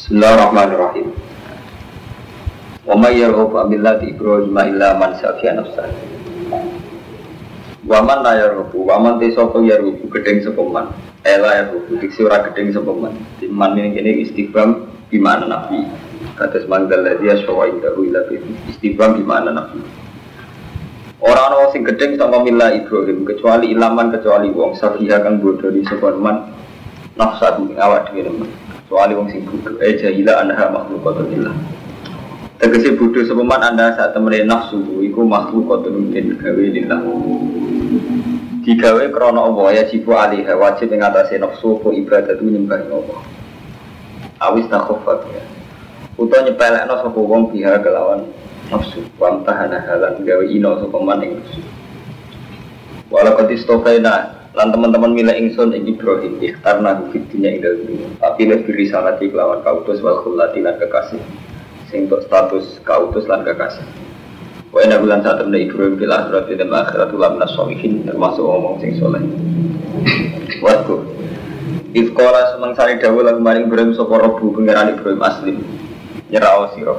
Bismillahirrahmanirrahim. Wa may yarghabu an millati Ibrahim illa man safiya nafsah. Wa man la yarghabu wa man tasawfa yarghabu gedeng sepeman. Ela yarghabu diksi ora gedeng sepeman. Diman ini istighfam di mana nabi. Kata semanggal ladzi aswa indahu ila bi istighfam di mana nabi. Orang-orang sing gedeng sama milah Ibrahim kecuali ilaman kecuali wong safiha kang bodho di sepeman nafsah awak dhewe nemen. Kecuali wong sing bodoh, jahila anha makhlukatulillah. Tegese bodoh sepeman anda saat temene nafsu iku makhlukatun den gawe lillah. Digawe krana Allah ya jibu alih wajib ing atase nafsu apa ibadatu nyembah Allah. Awis takhafat ya. Utawa nyepelekno sapa wong biha kelawan nafsu, wa tahana halan gawe ino sapa man ing nafsu. Walaqad istofaina lan teman-teman milih ingsun ing Ibrahim ikhtarna fid dunya ing dunya tapi lebih risalati kelawan kautus wal khulati lan kekasih sing untuk status kautus lan kekasih wa inna bilan saat temen Ibrahim fil akhirati dan akhiratul lamnas sholihin termasuk omong sing soleh waktu ifqala semangsane dawuh lan maring Ibrahim sapa Rabbu pangeran Ibrahim aslim nyerao sira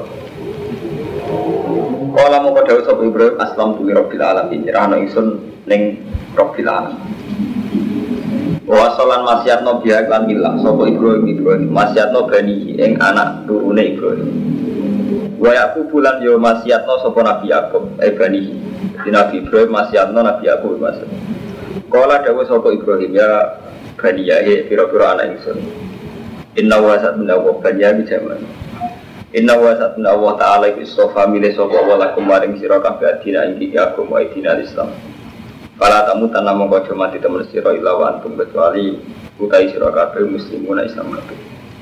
kala moko dawuh sapa Ibrahim aslam tu rabbil alamin nyerahno ingsun ning rabbil alamin. Wasolan masyatno biak lan milah sapa Ibrahim masyatno bani ing anak turune Ibrahim. Wa Yakub bulan yo masyatno sapa Nabi Yakub bani. Nabi Ibrahim masyatno Nabi Yakub mas. Kala dawuh sapa Ibrahim ya bani ya pira-pira anak ingsun. Inna wa satna wa bani ya jaman. Inna wa satna wa ta'ala istofa milih sapa wa lakum maring sira kabeh dina ing Yakub wa dina Islam. Kalau tamu tanam mengkojo mati temen siro ilawan tum kecuali utai siro kabeh muslimuna Islam kabeh.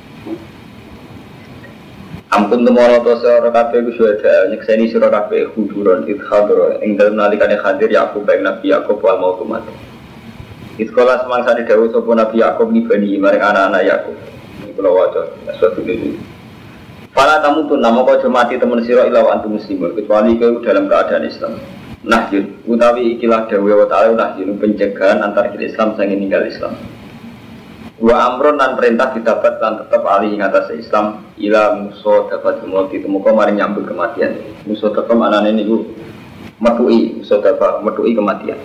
Ampun temoro to siro kabeh kusyada nyekseni siro kabeh huduron idhadro ing dalem nalikane hadir Yakub baik Nabi Yakub wal mautu mati. Iskola semangsane dawuh sapa Nabi Yakub ngibani maring anak-anak Yakub. Iki kula waca suatu dene. Para tamu tanam mengkojo mati temen siro ilawan tum muslimun kecuali kowe dalam keadaan Islam. Nahyun, utawi ikilah dawe wa ta'ala nahyun pencegahan antar kita Islam sang ninggal Islam. Wa amron dan perintah didapat dan tetap alih ing atas Islam ila musuh dapat mati temuka maring nyambut kematian. Musuh tetap anane niku metui, musuh dapat metui kematian.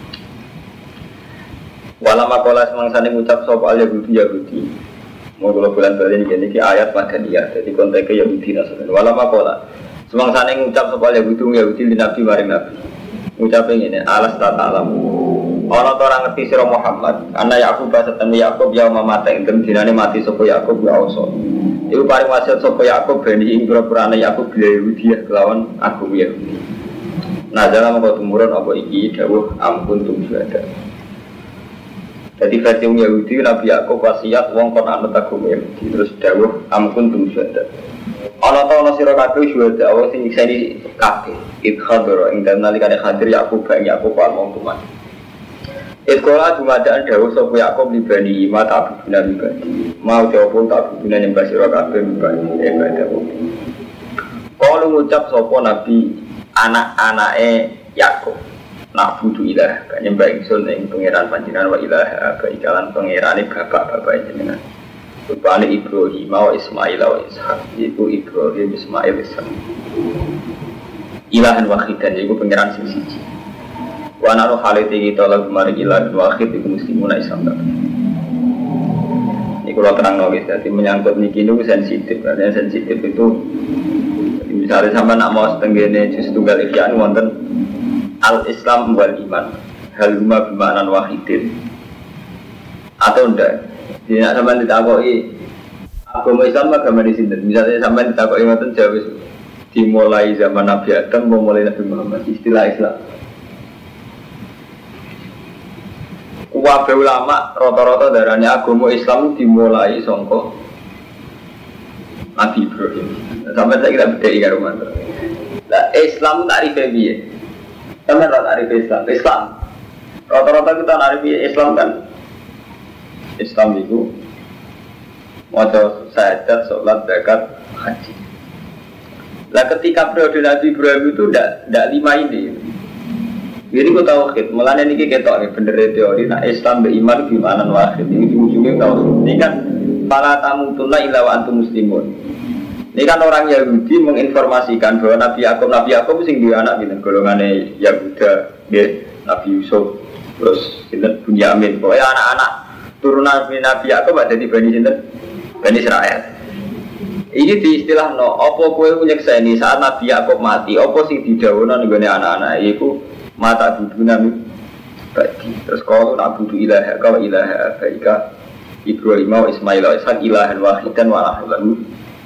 Walama kola semangsane ngucap sapa al Yahudi. Mau kula bulan bali iki ayat madaniyah. Jadi konteke Yahudi nasun. Walama kola semangsane ngucap sapa Yahudi di Nabi maring Nabi. Ngucape ngene, alas ta ta'lam. Ana ta ora ngerti sira Muhammad, ana Yakub basatan Yakub ya mamate ing dinane mati sapa Yakub ya oso. Iku paring wasiat sapa Yakub ben ing pura-purane Yakub Yahudi kelawan agama Yahudi. Nah, dalam kok tumurun apa iki dawuh ampun tum syuhada. Dadi versi Yahudi Nabi Yakub wasiat wong kon anut agama Yahudi terus dawuh ampun tum syuhada. Ana ta ana sira kabeh syuhada Allah sing nyekseni kabeh idhadro ing dalem nalikane hadir Yakub bae Yakub wal mautuman. Iskola dumadaan dawuh sapa Yakub libani mata abuna libani. Mau jawab tak abuna nyembah sira kabeh libani ibadah. Kalau ngucap sapa Nabi anak-anake Yakub nak budu ilah kan nyembah ingsun ing pangeran panjenengan wa ilah ba ikalan pangerane bapak-bapak jenengan. Rupane Ibrahim wa Ismail wa Ishak itu Ibrahim Ismail Ishak ilahan wahidan itu pengiran sing siji wa naru halite kita lagu mari ilahan wahid itu muslimuna Islam kabeh ini kalau terang guys jadi menyangkut niki niku sensitif karena sensitif itu misalnya sampai nak mau setenggene juz tunggal ihyan wonten al Islam wal iman hal huma bimanan wahidin atau ndak. Jadi nak sampai ditakoki agama Islam agama di sini. Misalnya sampai ditakoki ngoten jawab dimulai zaman Nabi Adam memulai Nabi Muhammad istilah Islam. Kabeh ulama rata-rata darane agama Islam dimulai saka Nabi Ibrahim. Sampai saya kira beda karo mantu. Lah Islam tarife piye? Sampai tarife Islam. Islam rata-rata kita tarife Islam kan Islam itu maca syahadat, sholat, zakat, haji. Lah ketika periode Nabi Ibrahim itu tidak lima ini. Jadi aku tauhid, mulanya ini ketok nih bener teori. Nah Islam beriman gimana wahid ini ujungnya tauhid. Ini kan fala tamutunna illa wa antum muslimun. Ini kan orang Yahudi menginformasikan bahwa Nabi Yakub sing duwe anak gitu, golongane Yahuda, nggih, Nabi Yusuf, terus sinten Bunyamin. Pokoknya anak-anak turunan Nabi Yakub ada di Bani sinten? Bani Israel. Iki diistilahno, apa kowe nyekseni saat Nabi Yakub mati, apa sing didhawuhna nggone anak-anak iku mata duduna bagi. Terus kalau nak butuh ilaha kau ilaha baika Ibrahim wa Ismail wa Ishaq ilahan wahidan wa lahu.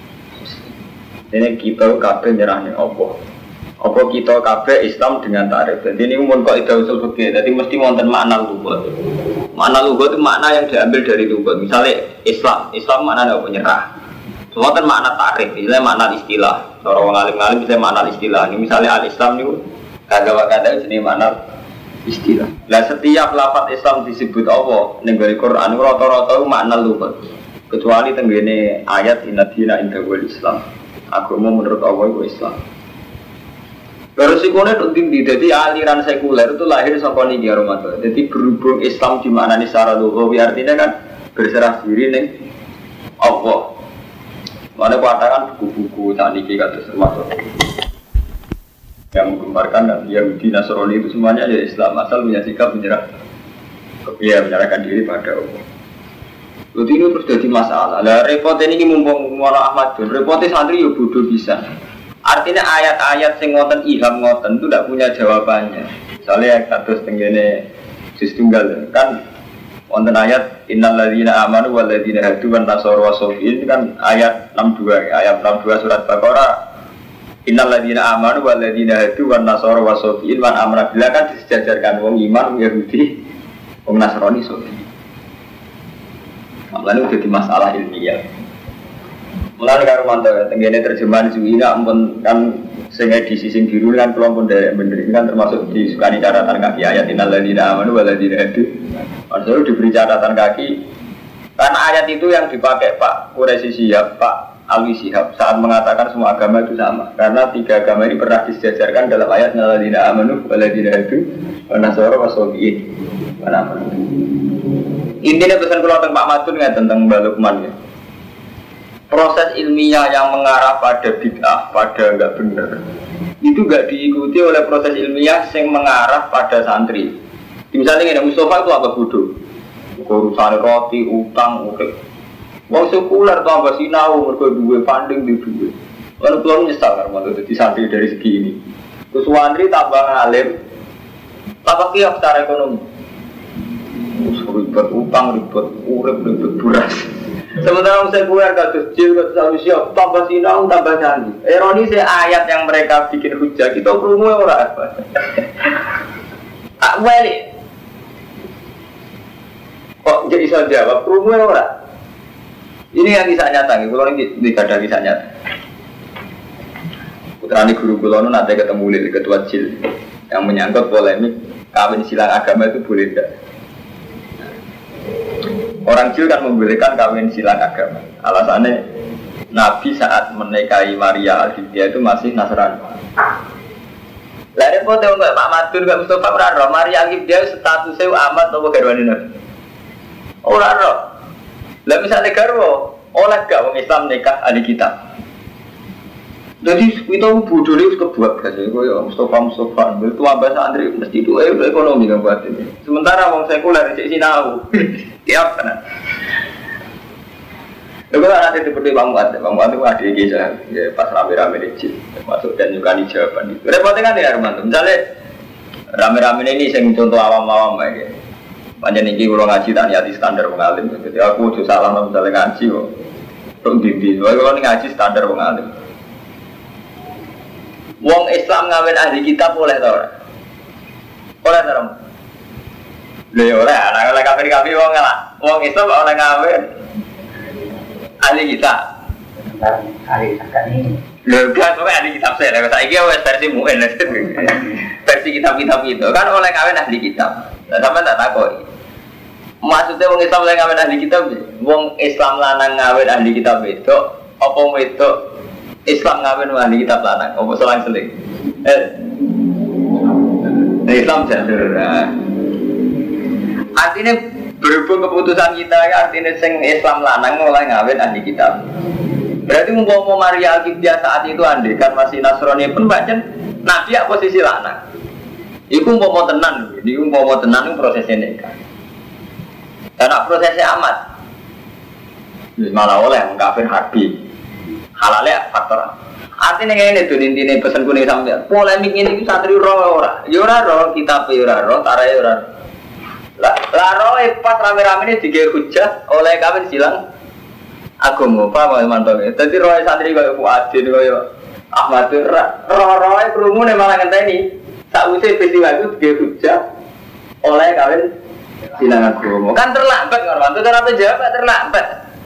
Ini kita kabeh nyerah ning apa? Apa kita kabeh Islam dengan tarif. Jadi ini mun kok ida usul fikih. Jadi mesti wonten makna lughat. Makna lughat itu makna yang diambil dari lughat. Misalnya Islam maknanya apa nyerah. Wonten makna tarif, misalnya makna istilah. Cara wong alim-alim bisa makna istilah. Ini misalnya al-Islam niku kata-kata jenis makna istilah. Lah setiap lafaz Islam disebut apa ning Quran rata-rata makna lughat. Kecuali tenggene ayat inna dina indal Islam. Agama menurut Allah itu Islam. Resikonya itu tinggi, jadi aliran sekuler itu lahir sampai niki Ramadan. Jadi berhubung Islam di mana nih secara lughawi artinya kan berserah diri nih Allah. Mana katakan buku-buku saat niki kata termasuk yang menggambarkan dan Yahudi Nasrani itu semuanya ya Islam asal punya sikap menyerahkan diri pada Allah. Jadi ini terus jadi masalah. Lah repot ini mumpung Maulana Ahmad Dun, repotnya santri ya bodoh bisa. Artinya ayat-ayat sing ngoten ilham ngoten itu tidak punya jawabannya. Misalnya kados tenggene juz tunggal kan wonten ayat innal ladzina amanu wal ladzina hadu wan nasara wasofiin kan ayat 62 surat Baqarah. Innal ladzina amanu wal ladzina hadu wan nasara wasofiin wan amra billah kan disejajarkan wong iman Yahudi wong Nasrani sofi. Lalu jadi masalah ilmiah. Mulai karo mantau tenggene terjemahan Zuhina ampun kan sing edisi sing biru kan kelompok dari bener kan termasuk disukani catatan kaki ayat innal ladzina amanu wal ladzina hadu. Maksudnya diberi catatan kaki karena ayat itu yang dipakai Pak Quraisy Shihab, Pak Alwi Shihab saat mengatakan semua agama itu sama. Karena tiga agama ini pernah disejajarkan dalam ayat innal ladzina amanu wal ladzina hadu wan nasara wasofiin. Intinya pesan keluar tentang Pak Madun ya tentang Mbak Lukman ya. Proses ilmiah yang mengarah pada bid'ah, pada enggak benar, itu enggak diikuti oleh proses ilmiah yang mengarah pada santri. Misalnya ini Mustafa itu apa bodoh? Urusan roti, utang, urip. Wong sekuler tuh apa sinau, mereka duwe funding di duwe. Lalu keluar nyesal karena jadi santri dari segi ini. Terus santri tambah ngalim, tambah kiok secara ekonomi. Ribet utang, ribet urip, ribet buras. Sementara saya keluar kados jil, kados siap, tambah sinau, tambah candi. Ironi ayat yang mereka bikin hujah kita krungu ora apa. Tak balik. Kok jadi iso jawab krungu ora? Ini yang kisah nyata, kalau ini tidak ada kisah nyata. Putrane guru kula nu nate ketemu Lili ketua jil yang menyangkut polemik kawin silang agama itu boleh tidak. Orang Jil kan membolehkan kawin silang agama. Alasannya Nabi saat menikahi Maria Al-Hidayah itu masih Nasrani. Lah repot ya Pak Madun gak Mustafa ora roh Maria Al-Hidayah statusnya amat apa garwane Nabi. Ora roh. Lah misale garwa oleh gak wong Islam nikah ahli kitab. Jadi kita bodoh itu kebuat guys. Koyo Mustafa itu ambas santri mesti itu ekonomi kan buat ini. Sementara wong sekuler di sinau. Tiap kan. Lalu nanti seperti Bang Muat itu ada kisah ya, pas rame-rame di masuk dan juga di jawaban itu. Repotnya kan ya Arman, misalnya rame-rame ini saya contoh awam-awam aja. Banyak nih kalau ngaji tak nyati standar mengalim. Jadi aku tuh salah misalnya ngaji kok. Tung dindi, kalau ngaji standar mengalim. Wong Islam ngawin ahli kitab boleh tau ora? Oleh tau? Lha ora, ana oleh kafir-kafir wong lah. Wong Islam oleh ngawin ahli kitab. Ahli kitab ini. Lha kan kok ahli kitab saya, lha saiki wis versi mu'en versi kitab-kitab itu kan oleh ngawin ahli kitab. Lah sampean tak takoki. Maksudnya wong Islam oleh ngawin ahli kitab, wong Islam lanang ngawin ahli kitab itu apa wedok Islam ngawin ahli kitab lanang, apa selang-seling? Islam jadul. Artinya Berhubung keputusan kita ya artinya sing Islam lanang mulai ngawin ahli kitab. Berarti mau Maria Alkitab saat itu andai kan masih Nasrani pun bacan Nabi ya posisi lanang. Iku mau tenan, iku mau tenan itu prosesnya nikah. Karena prosesnya amat. Malah oleh mengkafir harbi. Halalnya faktor. Artinya ini tuh intinya pesan kuning sampai polemik ini santri ora, yura kitab yura tarai yura. Laro pas rame-rame ini digawe hujah oleh kami silang agama apa mantap. Dadi roe santri kaya Fuadin kaya Ahmad roe krungu malah ngenteni sakwise peristiwa itu digawe hujah oleh kawin silang agama. Kan terlambat kan mantu kenapa jawab terlambat.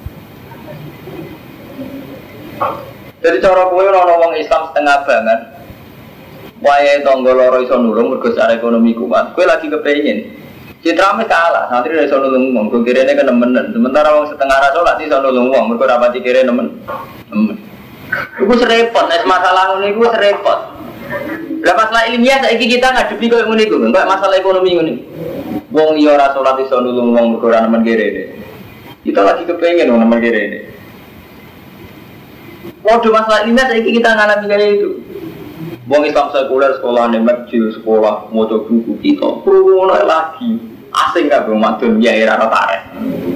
Jadi cara kowe ora wong Islam setengah banget. Wae tangga loro iso nulung mergo secara ekonomi kuat. Kowe lagi kepengin Citrame kalah, santri dari sono nulung wong, gue kira ini kan nemen. Sementara wong setengah rasa lah di sono nulung wong, mereka rapati kira nemen. Gue serempot, es masalah ini gue serempot. Lah masalah ilmiah saiki kita ngadepi koyo ngene iku, enggak masalah ekonomi ngene. Wong liya ora salat di sono nulung wong, mereka ora nemen kira ini. Kita lagi kepengen wong nemen kira ini. Waduh masalah ilmiah saiki kita ngalami kayak itu. Wong Islam sekuler sekolah masjid sekolah maca buku kita ngono lagi asing gak Bang Madun ya era tarik.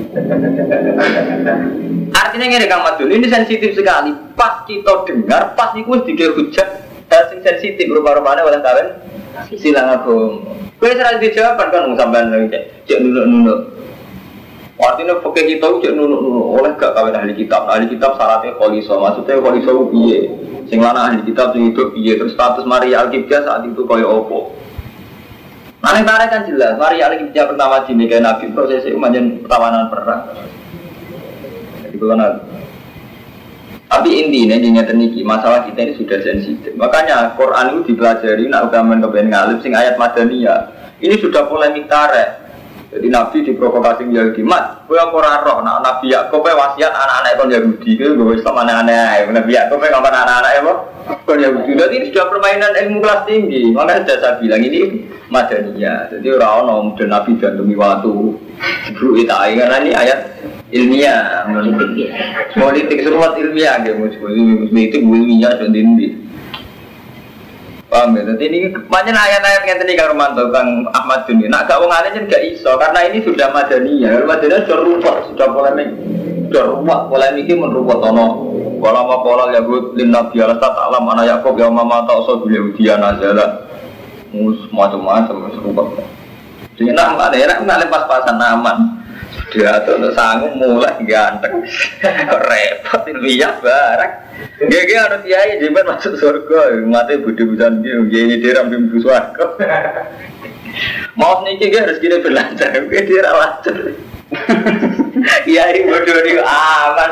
Artinya ngene Kang Madun ini sensitif sekali. Pas kita dengar pas iku wis dikir hujat sing sensitif rupa-rupane oleh kawin silang agama. Kowe ora dijawab kan sampean cek nunuk-nunuk. Artinya pakai kita cek nunuk-nunuk oleh gak kawin ahli kitab. Ahli kitab syaratnya kholiso, maksudnya kholiso piye? Sing lanang ahli kitab sing hidup piye terus status Maria Alkitab saat itu kaya apa? Nang tarik kan jelas, Maria Alkitab pertama dinikahi Nabi prosesnya manjen pertawanan perang. Jadi kalau tapi intinya niki masalah kita ini sudah sensitif. Makanya Quran itu dipelajari nak ugaman kepen ngalip sing ayat Madaniyah. Ini sudah polemik tarik. Jadi Nabi diprovokasi Yahudi mat, gue apa roh, nah Nabi Yakub wasiat anak-anak kon Yahudi, gue Islam aneh-aneh, Nabi Yakub ngomong anak-anak apa, kon Yahudi. Jadi ini sudah permainan ilmu kelas tinggi, makanya sudah saya bilang ini Madaniyah. Jadi orang dan Nabi dan demi waktu, bro itai karena ini ayat ilmiah, politik seruat ilmiah, gitu, politik ilmiah dan tinggi. Paham ya? Jadi ini banyak ayat-ayat yang tadi Kang Romanto, Kang Ahmad Duni. Nak gak wong alim kan gak iso karena ini sudah Madaniyah. Madaniyah sudah ruwet, sudah polemik, sudah ruwet. Polemik ini meruwet ono. Kalau mau pola Yahud lim Nabi Allah Taala mana Yakub yang mama tak usah beliau dia nazala, macam-macam serupa. Jadi nak ada pas-pasan aman. Sudah untuk sanggup mulai ganteng, repot ilmiah barang. Gak harus kiai jimat masuk surga, mati budi-budian dia diram bimbu surga. Mau niki gak harus kira berlancar, dia lancar. Kiai bodoh ni aman.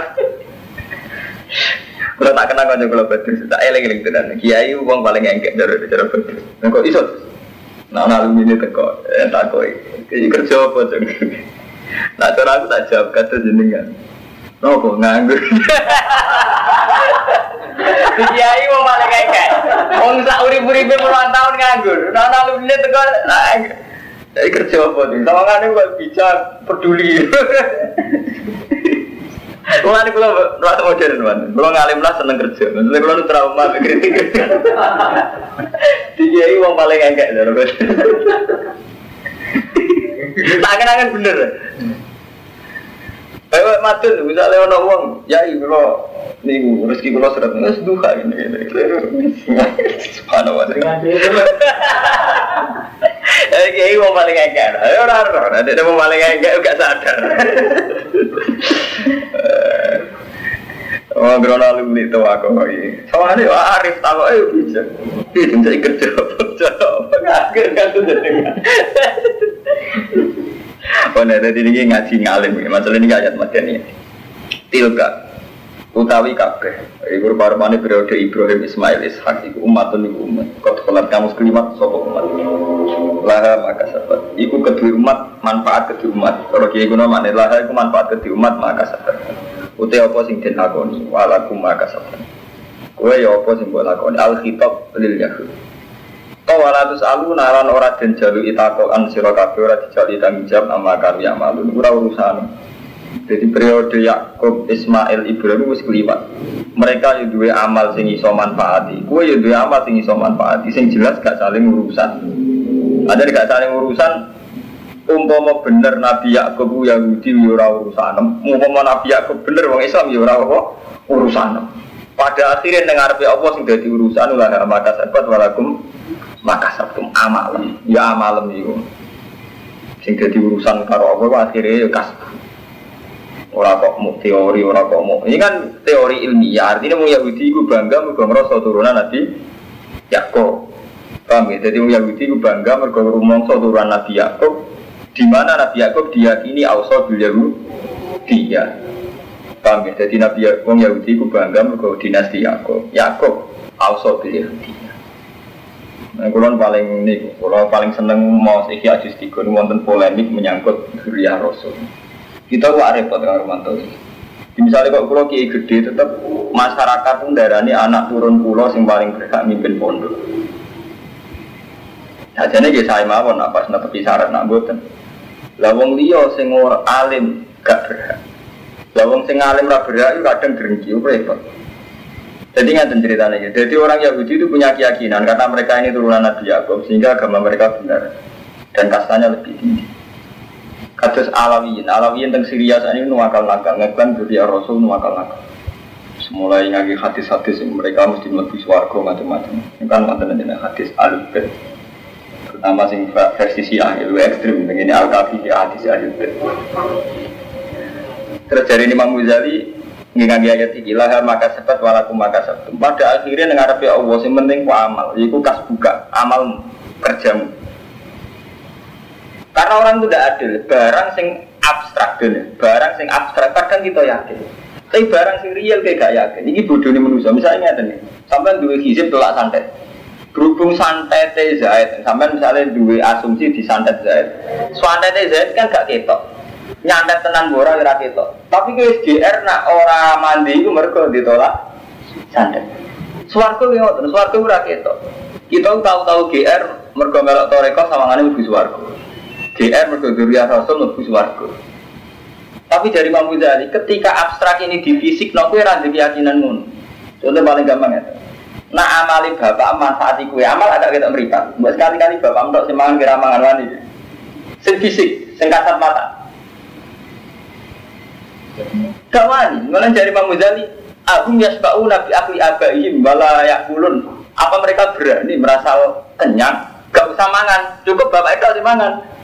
Kalau tak kenal kau kalau betul, tak eleng-eleng tenan. Kiai uang paling engkek cara betul. Kau iso, nak alumni teko, tak kau. Kerja apa tu? Nah cara aku tak jawab kata jenengan. No kok nganggur. Kiai mau malah kayak. Wong sak urip-uripe puluhan tahun nganggur. Nah alumni teko dari kerja apa tuh? Tawangane kok bisa peduli. Mulane kula rasa modern man. Kula ngalim lah seneng kerja. Maksudnya kula nu trauma kritik. Kiai wong paling engkek lho. Tak bener. Ayo matun, misalnya ono wong, ya kula niku rezeki kula seret wis duha ngene. Subhanallah. Kiai wong paling engkek. Ayo ora, nek wong paling engkek gak sadar. Oh, grono alumni itu aku iki. Soale arif takoke bisa. Iki jenenge kerja. Apa kan jenenge. Oh, nah, tadi ini ngaji ngalim, masalah ini ayat Madaniyah. Tilka, utawi kabeh. Iku rupa-rupane periode Ibrahim, Ismail, Ishak, iku umatun iku umat. Kau telat kamu sekelimat, sopo umat. Laha maka sahabat. Iku kedua umat, manfaat kedua umat. Kalau kiai guna makna laha iku manfaat kedua umat, maka sahabat. Utai apa sing den lakoni, walakum maka sahabat. Kowe ya apa sing mbok lakoni, al-khitab lil yahud. walatus alu nalan ora den jalu itakokan sira kabeh ora dijali tanggung jawab ama kami amalun ora urusan. Jadi periode Yakub, Ismail, Ibrahim wis kliwat. Mereka yo duwe amal sing iso manfaati. Kowe yo duwe amal sing iso manfaati sing jelas gak saling urusan. Ada gak saling urusan. Umpama bener Nabi Yakub Yahudi yo ora urusan. Umpama Nabi Yakub bener wong Islam yo ora urusan. Pada akhirnya ning ngarepe Allah sing dadi urusan ulah maka sabat walakum maka sabtum amal. Ya amalem iku. Sing dadi urusan karo Allah akhirnya yo kasih. Ora kok mau teori, ora kok mau. Ini kan teori ilmiah. Artinya mau Yahudi itu bangga mergo ngrasa turunan Nabi Yakub. Paham ya? Jadi mau Yahudi itu bangga mergo rumangsa turunan Nabi Yakub. Di mana Nabi Yakub diyakini ausa bil Yahudiyah. Paham ya? Jadi Nabi Yakub Yahudi itu bangga mergo dinasti Yakub. Yakub ausa bil Yahudiyah. Nah, kalau paling seneng mau Ihya Juz 3 wonten polemik menyangkut dzurriyyah Rasul. Kita kok repot dengan Romanto. Misalnya kalau pulau kiai gede, tetap masyarakat pun darani anak turun pulau yang paling berhak mimpin pondok. Sajane nggih saya mawon apa netepi syarat nak mboten. Lah wong liya sing ora alim gak berhak. Lah wong sing alim ra berhak kadang drengki repot. Jadi ngaten ceritanya ya. Jadi orang Yahudi itu punya keyakinan karena mereka ini turunan Nabi Yakub sehingga agama mereka benar dan kastanya lebih tinggi. Kados Alawiyin teng Syria saat ini nuwakal-nakal, ngeklan dzurriyyah Rasul nuwakal-nakal. Semulai ngaji hadis-hadis mereka mesti mlebu swarga macam-macam. Ini kan wonten hadis Al-Bait. Terutama sing versi Syiah itu ekstrem begini Al-Kafi hadis Al-Bait. Terus dari Imam Ghazali ngaji ayat iki lah maka sabat walakum maka sabtum. Pada akhirnya ngarepe Allah sing penting ku amal, yaiku kasbuka, amal kerjamu. Karena orang itu tidak adil, barang sing abstrak dulu, barang sing abstrak kadang kita yakin. Tapi barang sing real kayak gak yakin. Ini bodohnya manusia. Misalnya nih, sampai dua hizib tolak santet. Berhubung santet Zaid, sampai misalnya dua asumsi di santet Zaid. Santet Zaid kan gak ketok, nyantet tenan bora kira ketok. Tapi ke SGR nak orang mandi itu mereka ditolak santet. Swarga yang ngotot, swarga ora ketok. Kita tahu-tahu GR mereka melok toreko sawangane mlebu swarga. GR mergo dzurriyyah Rasul mlebu swarga. Tapi dari Imam Ghazali ketika abstrak ini di fisik nek kowe ra ndek keyakinan ngono. Contoh paling gampang ya. Nak amali bapak manfaati kowe amal agak ketok mripat. Mbok sekali-kali bapak mentok sing mangan kira mangan wani. Sing fisik, sing kasat mata. Gak wani, malah dari Imam Ghazali Agum yasba'u nabi akli abaihim wala yakulun. Apa mereka berani merasa kenyang? Gak usah mangan, cukup bapak itu harus mangan.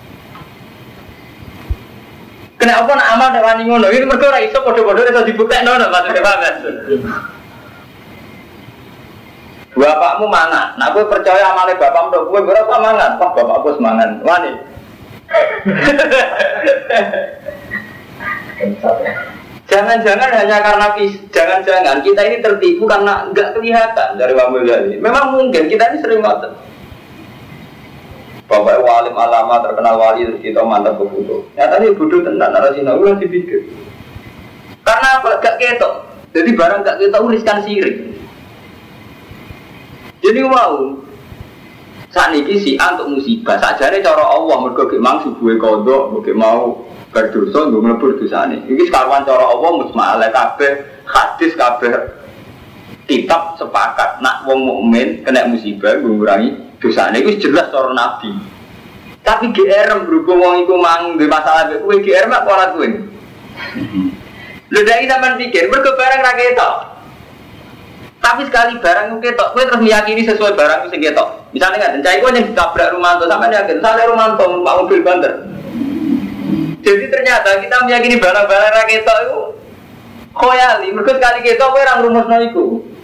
Kenapa nak amal nek wani ngono? Iki mergo ora iso padha-padha iso dibuktekno lho maksudnya Pak. Bapakmu mangan. Nak kowe percaya amale bapakmu tok kowe ora usah mangan. Wah, bapakku semangan. Wani. Jangan-jangan hanya karena jangan-jangan kita ini tertipu karena enggak kelihatan dari Wamil Ghazali. Memang mungkin kita ini sering ngotot. Bapak walim alama terkenal wali terus kita mantap bebudo. Nyatanya bodoh tenan narasina ulang dipikir. Karena apa? Gak ketok. Jadi barang gak ketok riskan sirik. Jadi wow. Saat ini si untuk musibah. Sajane cara Allah mergo ge mang subuhe kodok, mergo mau berdosa nggo mlebu dosane. Iki sekawan cara Allah musma'al kabeh hadis kabeh kitab sepakat nak wong mukmin kena musibah ngurangi dosane iku jelas cara Nabi. Tapi GR berhubung wong iku mang duwe masalah mek kowe GR mak ora kowe. Lha dai sampean pikir mergo barang ra ketok. Tapi sekali barang itu ketok, kowe terus meyakini sesuai barang itu sing ketok. Misalnya ngaten cai kowe yang ditabrak Rumanto sampean yakin sale Rumanto numpak mobil banter. Jadi ternyata kita meyakini barang-barang ra ketok itu khoyali, mergo sekali ketok kowe ora ngrumusno iku.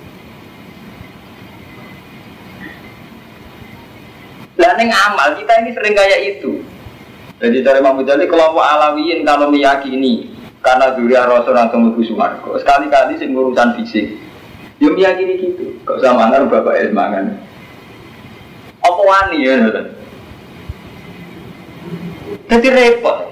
Lah ning amal kita ini sering kayak itu. Jadi dari Imam Ghazali kelompok Alawiyin kalau meyakini karena dzurriyyah Rasul langsung mlebu swarga. Sekali-kali sing urusan fisik. Yo meyakini gitu. Kok sama mangan bapak mangan. Apa wani ya ngoten. Jadi repot.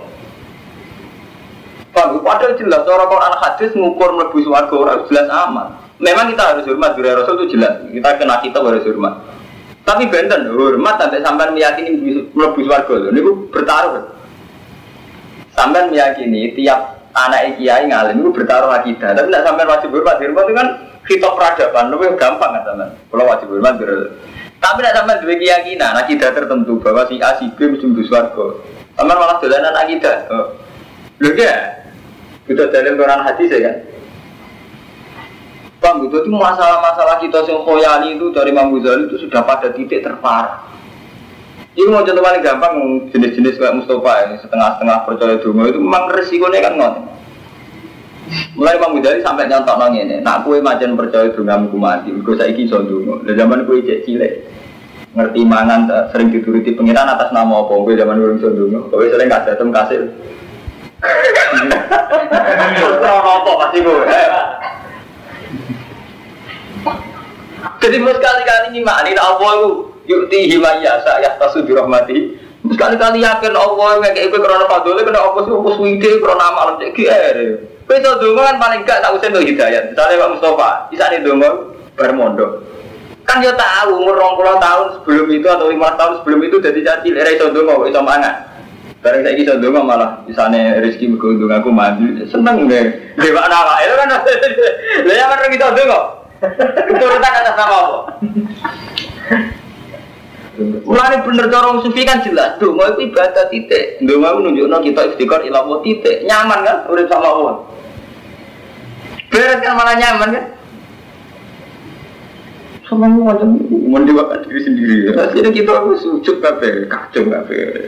Padahal jelas cara Quran hadis ngukur mlebu swarga ora jelas amal. Memang kita harus hormat dzurriyyah Rasul itu jelas. Kita kena kita harus hormat. Tapi benten hormat sampai sampean meyakini mlebu swarga lho niku bertaruh. Sampean meyakini tiap anak kiai ngalim niku bertaruh akidah. Tapi nek sampean wajib hormat itu kan khitab peradaban lebih gampang kan sampean. Kalau wajib hormat tapi nek sampean duwe keyakinan akidah tertentu bahwa si A si B mesti mlebu swarga. Sampean malah dolanan akidah. Lho ya. Kita dalam Quran hadis ya kan. Bang, itu masalah-masalah kita yang khoyali itu dari Imam Ghazali itu sudah pada titik terparah. Ini mau contoh paling gampang jenis-jenis kayak Mustafa yang setengah-setengah percaya dungo itu memang resikonya kan ngon. Mulai Imam Ghazali sampai nyontok nong ini. Nak kue macam percaya dungamu mati, kau saiki iso dungo. Dari zaman kue cek cilik ngerti mangan sering dituruti pengiran atas nama apa? Kue zaman kue iso dungo. Kue sering kasih tem kasih. Apa pasti kue. Jadi sekali-kali ngimani Allah itu yukti himayasa ya tasudhi rahmati. Sekali-kali yakin Allah ngekek kowe krana fadhole kena apa sih wis wide krana amal cek GR. Kowe iso ndonga kan paling gak tak usah ndonga hidayat. Misale Pak Mustofa, isane ndonga bar mondok. Kan yo tahu umur 20 tahun sebelum itu atau 5 tahun sebelum itu dadi caci lek iso ndonga kok iso mangan. Bareng saiki iso ndonga malah isane rezeki mergo ndonga aku mandi. Seneng deh. Dewa awake kan. Lah ya kan iso ndonga. Keturutan atas nama apa? Mulane bener cara sufi kan jelas. Donga itu ibadah titik. Donga itu nunjukno kita istiqor ila Allah titik. Nyaman kan urip sama Allah. Beres kan malah nyaman kan? Sama macam mendewakan diri sendiri. Akhirnya kita harus sujud kabeh, kacung kabeh.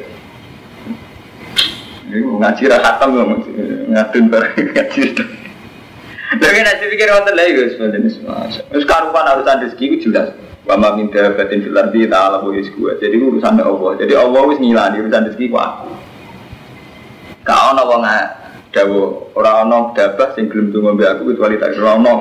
Ini ngaji ra khatam kok ngadun bareng ngaji. Lagi nanti pikir wonten lha iku sebenarnya semua. Wis karupan urusan rezeki itu jelas. Wa ma min dabatin fil ardi ta'ala wa rizquha. Jadi urusan Allah. Jadi Allah wis ngilani urusan rezeki ku aku. Ka ono wong dawuh ora ono dabah sing gelem donga mbek aku kecuali tak ora ono.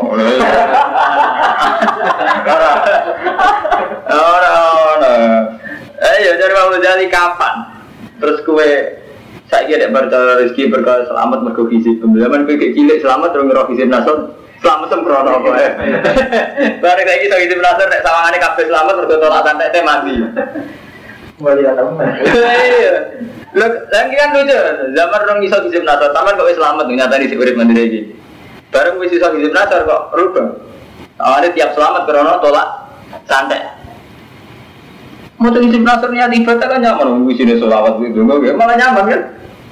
Ora. Ayo cari wae jadi kapan? Terus kowe saiki nek percaya rezeki berkah selamat mergo gizi pembedaman kowe cilik selamat terus ngira gizi nasor selamat sembrono apa ya. Bareng saiki iso gizi nasor nek sawangane kabeh selamat mergo tolak santet mati. Mulai datang. Iya. Lho, lagi kan lucu. Zaman orang iso gizi nasor, taman kok wis selamat nyatani sik urip mandiri iki. Bareng wis iso gizi nasor kok rubah. Awalnya tiap selamat karena tolak santet. Mau gizi nasor niat ibadah kan nyaman, wisine selawat itu enggak malah nyaman kan.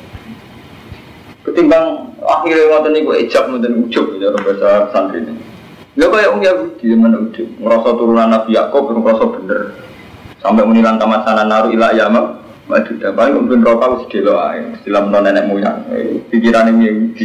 Ketimbang akhirnya ngoten niku ijab ngoten ujub ya bahasa santri ini. Lha kaya wong Yahudi zaman ujub, ngrasa turunan Nabi Yakub ngrasa bener. Sampai menilang tamat sana naru ila yama, maju dah paling mungkin rokok wis delok ae, istilah nenek moyang, pikirane Yahudi.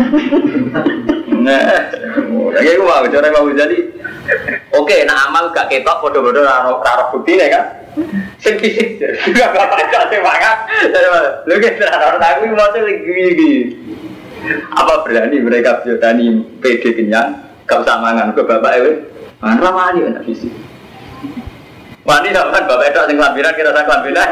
Nah, lagi aku mau bicara mau jadi. Oke, nah amal gak ketok bodoh-bodoh raro buktine kan. Sing fisik juga bapak cak semangat. Lho kita orang aku mau lagi. Apa berani mereka berani PD kenyang, gak usah mangan ke bapak ewe. Mana wani anak fisik. Wani kan bapak itu sing lambiran kita sak lambiran.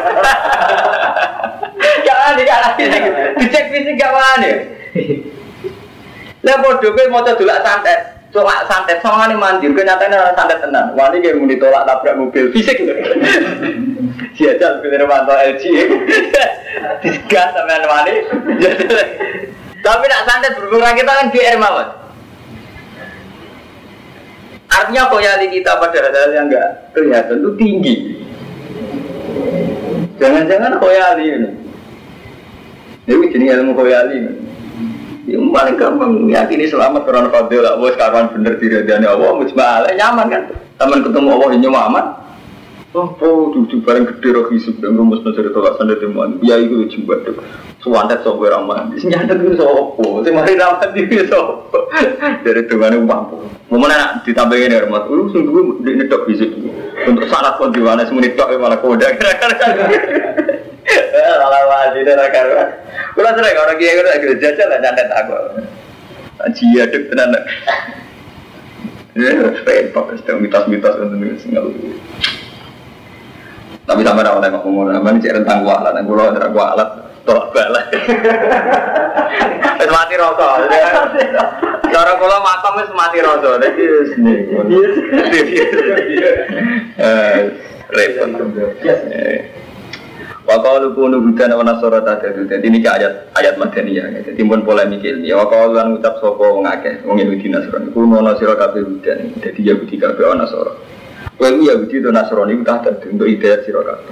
Jangan dikalahin. Dicek fisik gak wani. Lah bodoh kowe maca dolak santet. Tolak santet sawangane mandir kenyataane ora santet tenan. Wani ge muni tolak tabrak mobil fisik. Siajal pilih manto LG. Digas sampean wani. Tapi nak santet berkurang kita kan GR mawon. Artinya khoyali kita pada hal yang enggak kelihatan itu tinggi. Jangan-jangan khoyali ini. Ini jenis ilmu khoyali. Yang paling gampang yakini selamat karena fadil Allah sekarang bener diridani Allah mujmalah nyaman kan. Teman ketemu Allah ini nyaman. Oh, duduk bareng gede roh hisub dan rumus mencari tolak sandet teman. Ya itu coba tuh. Suwantet sopo ramah. Senjata itu sopo. Semari ramah itu sopo. Dari tuannya mampu. Mana ditambahin ya rumah. Lu sungguh di nedok hisub. Untuk syarat pun diwana semua nedok malah koda. Salah wajib dan akar. Kalau sering orang kaya itu agak jajal lah sandet aku. Jia dek tenan. Ya, repot. Sedang mitos-mitos untuk singgah. Tapi sama orang yang ngomong, apa ini cek rentang kualat, yang kulo ada kualat, tolak balik. Mati rosol. Cara kulo matang itu mati rosol. repot. Wa qalu kunu hudan wa nasara tadadu. Dadi niki ayat madaniyah. Dadi pun polemik iki. Wa qalu lan ngucap sapa wong akeh wong Yahudi Nasrani. Kulo ana sira kabeh hudan. Dadi Yahudi kabeh ana Nasara. Kowe Yahudi to Nasrani udah dadi untuk hidayah sira kabeh.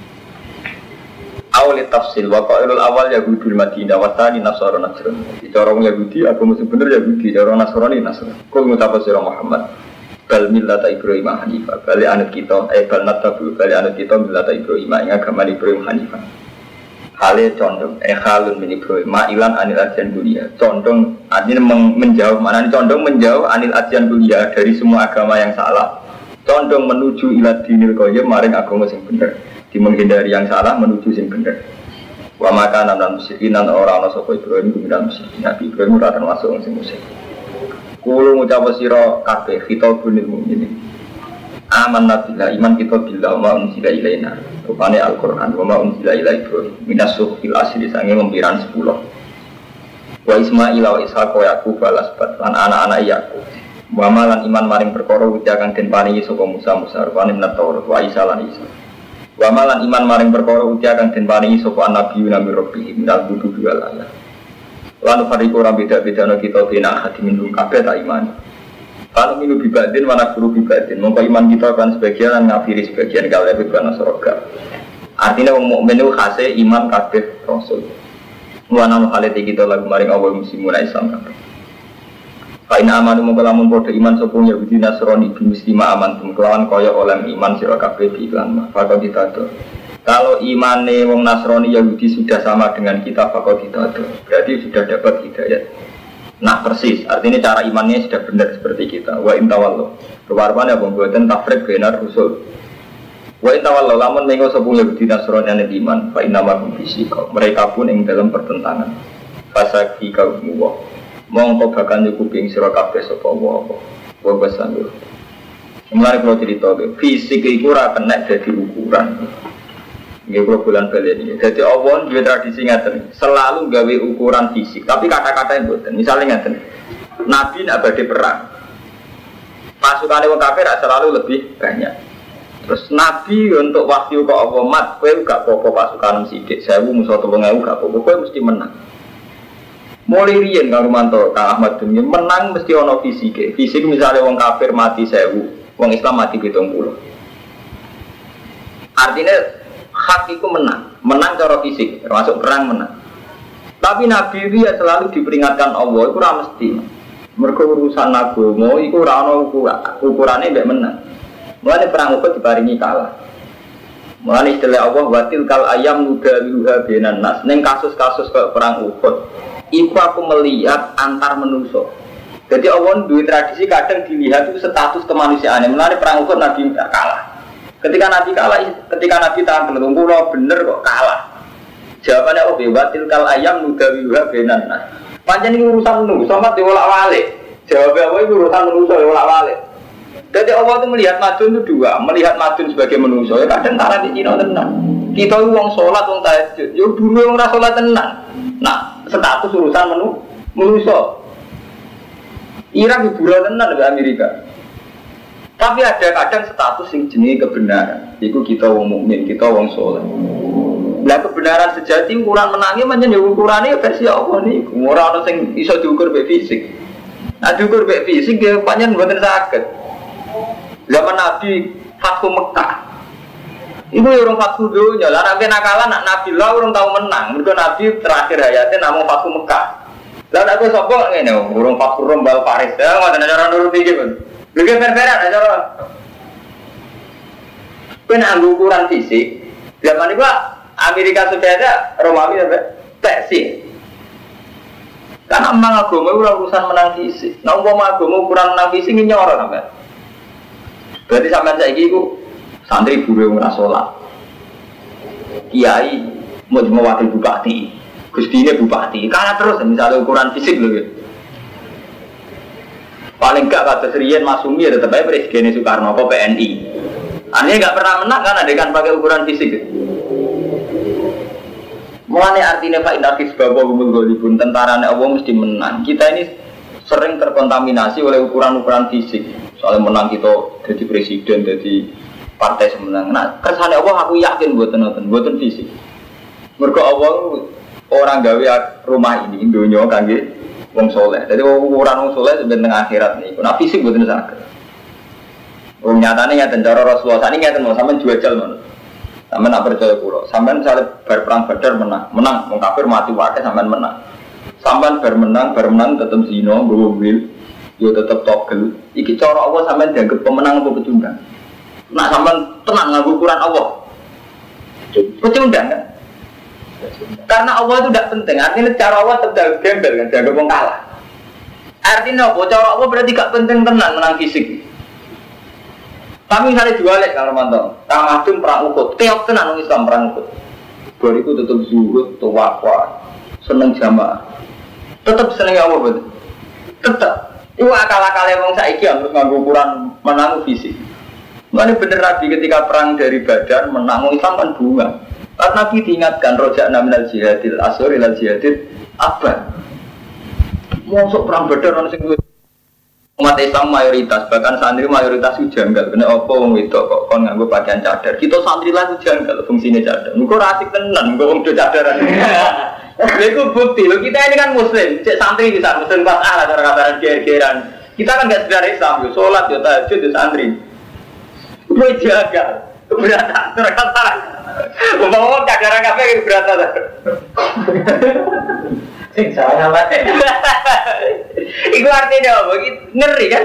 Awal tafsil wa qailul awal Yahudul Madinah wa tsani Nasara Nasrani. Cara wong Yahudi agama sebenarnya Yahudi, cara Nasrani Nasrani. Kowe ngucap sira Muhammad bal millata Ibrahim Hanifah, bal anut kita bal natabu bal anut kita millata Ibrahim ing agama Ibrahim Hanifah. Hale condong halun min Ibrahim ma'ilan anil adyan dunia. Condong artinya menjauh, maknanya condong menjauh anil adyan dunia dari semua agama yang salah. Condong menuju ila dinil qayyim maring agama sing bener. Di menghindari yang salah menuju sing bener. Wa makanan lan musyrikin lan ora ana sapa Ibrahim kuwi musyrik. Nabi Ibrahim ora termasuk sing musyrik. Kulo ngucap sira kabeh khitabun lil mukminin. Amanna billah iman kita billah wa unzila ilaina. Rupane Al-Qur'an wa ma unzila ila Ibrahim minasuh fil asri sange lempiran 10. Wa Ismail wa Ishaq wa Yaqub balasbat lan anak-anak Yaqub. Wa malan iman maring perkara uti akan den paringi saka Musa rupane Taurat wa Isa lan Isa. Wa malan iman maring perkara uti akan den paringi saka nabi nabi Rabbi minal budu wal ayat. Lalu fariqu ora beda-beda kita bina hati minum kabeh tak iman. Kalau minum bibadin mana guru bibadin, mongko iman kita kan sebagian ngafiri sebagian kalau lebih karena soroga. Artinya wong mukmin itu khase iman kabeh rasul. Wana halate kita lagu maring awal muslimun Islam kabeh. Fa in amanu mongko lamun padha iman sapa Yahudi Nasrani bi muslima aman kelawan kaya oleh iman sira kabeh di iklan. Fakon ditado. Kalau imane wong Nasrani Yahudi sudah sama dengan kita fakot hidayah, berarti sudah dapat hidayah. Nah persis, artinya cara imannya sudah benar seperti kita. Wa intawallo, rupa-rupanya pembuatan tafrik benar usul. Wa intawallo, lamun mengo sepuluh Yahudi Nasrani yang iman, fa inama fisika. Mereka pun yang dalam pertentangan. Fasaki kaum wa, mongko bakal nyukupi sira kabeh sapa wa. Wa basandur. Mulai kalau cerita fisik itu ora kena jadi ukuran. Nggih kula bulan bali iki. Dadi Allah duwe tradisi ngaten, selalu gawe ukuran fisik, tapi kata-kata yang mboten. Misale ngaten. Nabi nek badhe perang. Pasukane wong kafir selalu lebih banyak. Terus Nabi untuk wahyu kok apa mat, kowe gak apa-apa pasukan sithik, 1000 musuh 3000 gak apa-apa, kowe mesti menang. Mulai riyen karo manto Kang Ahmad Dunya menang mesti ana fisike. Fisik misale wong kafir mati 1000, wong Islam mati 70. Artinya hak itu menang cara fisik, termasuk perang menang. Tapi Nabi dia selalu diperingatkan Allah, itu ora mesti. Mergo urusan agama iku ora ana ukurane mbek menang. Mulane perang Uhud diparingi kalah. Mulane istilah Allah watil kal ayam nudaluha bainan nas. Ning kasus-kasus kayak perang Uhud, iku aku melihat antar manusia. Jadi Allah duwe tradisi kadang dilihat itu status kemanusiaannya. Mulane perang Uhud Nabi kalah. Ketika Nabi tahan belum pulau bener kok kalah. Jawabannya oh bebatil kal ayam nudawiha benan. Panjang ini urusan nu, sama diolak-walik. Jawabnya apa itu urusan manusia diolak-walik. Jadi Allah itu melihat madun itu dua, melihat madun sebagai manusia. Ya kadang taran di Cina tenang. Kita uang sholat, uang tahajud. Yo dulu uang sholat tenang. Nah status urusan manusia. Irak hiburan tenang di Amerika. Tapi ada kadang status yang jenis kebenaran. Itu kita wong mukmin, kita wong soleh. Nah kebenaran sejati ukuran menangnya macam ukurannya versi Allah nih. Orang yang bisa diukur be fisik. Nah diukur be fisik dia panjang buatan sakit. Zaman Nabi Fathu Mekah. Ibu orang Fathu dunia. Lah nabi nakalan Nabi lah orang tahu menang. Mereka Nabi terakhir hayatnya namun Fathu Mekah. Lah aku sopok ini orang Fathu Rombal Paris. Ya nggak ada cara nurut dikit. Lebih fair-fairan aja loh. Kena ukuran fisik. Zaman itu Amerika sudah ada Romawi sampai Persia. Karena memang agama itu urusan menang fisik. Nah umpama agama ukuran menang fisik ini nyorot sampai. Berarti sampai saya itu santri guru yang sholat. Kiai mau wakil bupati, gustinya bupati. Karena terus misalnya ukuran fisik loh. Ya. Paling enggak kata Serian Masumi ya tetap aja Presiden Soekarno apa PNI. Artinya enggak pernah menang kan adegan pakai ukuran fisik. Mulane artinya Pak Indakis Bapak Gumul Golibun tentaranya Allah mesti menang. Kita ini sering terkontaminasi oleh ukuran-ukuran fisik. Soalnya menang kita jadi presiden, jadi partai semenang. Nah, kersane Allah aku yakin mboten fisik. Mergo Allah orang gawe rumah ini donya kangge wong soleh. Jadi ukuran wong soleh sebenarnya akhirat nih. Nah fisik mboten saged. Wong nyatane ngaten cara Rasulullah sakniki ngaten mau sampean jual mon. Sampean nak percaya kula. Sampean misale bar perang Badar menang wong kafir mati wae sampean menang. Sampean bar menang tetep zina, nggowo wil, yo tetep togel. Iki cara Allah sampean dianggap pemenang apa pecundang? Nak sampean tenang nganggo ukuran Allah. Pecundang kan? Karena Allah itu tidak penting. Artinya cara Allah tetap gembel kan, dianggap wong kalah. Artinya apa? Cara Allah berarti gak penting tenang menang fisik. Tapi misalnya jualek kalau mantap, Kang Madun perang Uhud, keok tenan orang Islam perang Uhud. Bariku tetap zuhud, tawakal, seneng jamaah. Tetap seneng Allah betul. Tetap. Iku akal-akale wong saiki harus nganggo ukuran menang fisik. Mana bener Nabi ketika perang dari Badar menang Islam kan bunga. Karena Nabi diingatkan rojak naminal jihadil asor ilal jihadil abad. Masuk perang Badar orang sing umat Islam mayoritas, bahkan santri mayoritas itu janggal. Kena apa wong wedok kok kon nganggo pakaian cadar. Kita santri lah itu janggal fungsine cadar. Engko ra asik tenan engko wong do cadaran. Lha iku bukti lho kita ini kan muslim, cek santri bisa muslim pas ala cara kasaran ger-geran. Kita kan enggak sekedar Islam yo, salat yo tahajud yo santri. Kowe jaga keberatan terkata. Umpama cadaran kabeh keberatan. Sing salah wae. Iku artinya apa? Ngeri kan?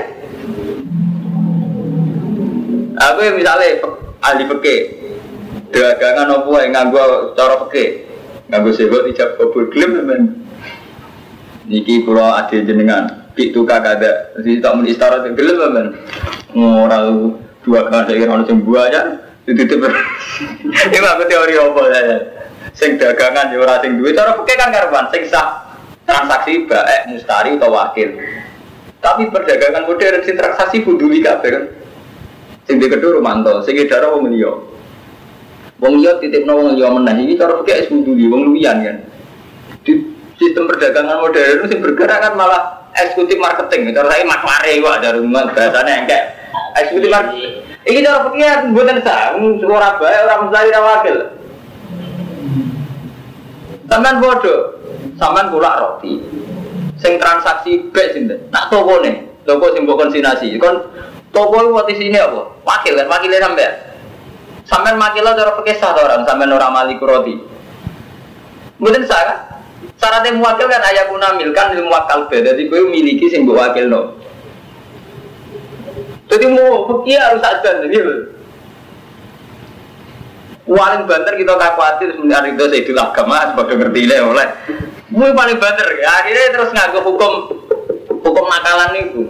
Aku misalnya ahli fikih, dagangan apa yang nganggo cara fikih, nganggo sebut ijab kabul gelem men. Niki kula ade jenengan, pitu kakada, jadi tak muni istara gelem men. Ora dua kali ono sing buaya, dititip. Iki aku teori apa saya? Sing dagangan yo ora sing duwe cara fikih kan karuan sing sah transaksi baik mustari atau wakil. Tapi perdagangan modern sing transaksi buduli kabeh kan. Sing dikedhu romanto, sing edar wong liya. Wong liya titipno wong liya meneh iki cara fikih buduli wong luwian kan. Di sistem perdagangan modern sing bergerak kan malah eksekutif marketing. Cara saya maklare kok ada rumah bahasane engke. Eksekutif marketing. Iki cara fikih mboten sah, ora bae ora mustari ora wakil. Sampeyan bodoh, sampeyan kulak roti. Sing transaksi bek sinten? Nak tokone, toko sing mbok konsinasi. Kon toko iki sini apa? Wakil kan, wakile sampeyan. Sampeyan makila cara fikih sah orang, sampeyan ora maliku roti. Mboten sah kan? Syaratnya muwakil kan ayakuna milkan lil muwakkal be. Dadi kowe miliki sing mbok wakilno. Jadi mau fikih harus sadar gitu. Paling banter kita tak khawatir sebenarnya itu saya itu agama sebagai ngerti oleh. Mui paling banter ya akhirnya terus ngaku hukum nakalan itu.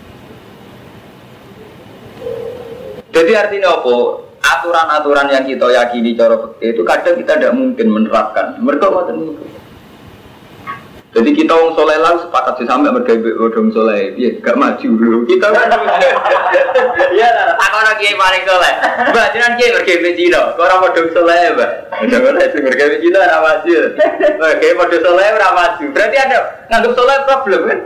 Jadi artinya apa? Aturan-aturan yang kita yakini cara fikih itu kadang kita tidak mungkin menerapkan. Mereka macam itu. Jadi kita orang soleh lah sepakat sih sampai bergabung orang soleh, ya gak maju dulu. Kita ya lah, tak orang kiai paling soleh. Mbak, jangan kiai bergabung Cina. Kau orang orang soleh, mbak. Jangan lah, bergabung Cina orang maju. Kiai orang soleh orang maju. Berarti ada nganggap soleh problem kan?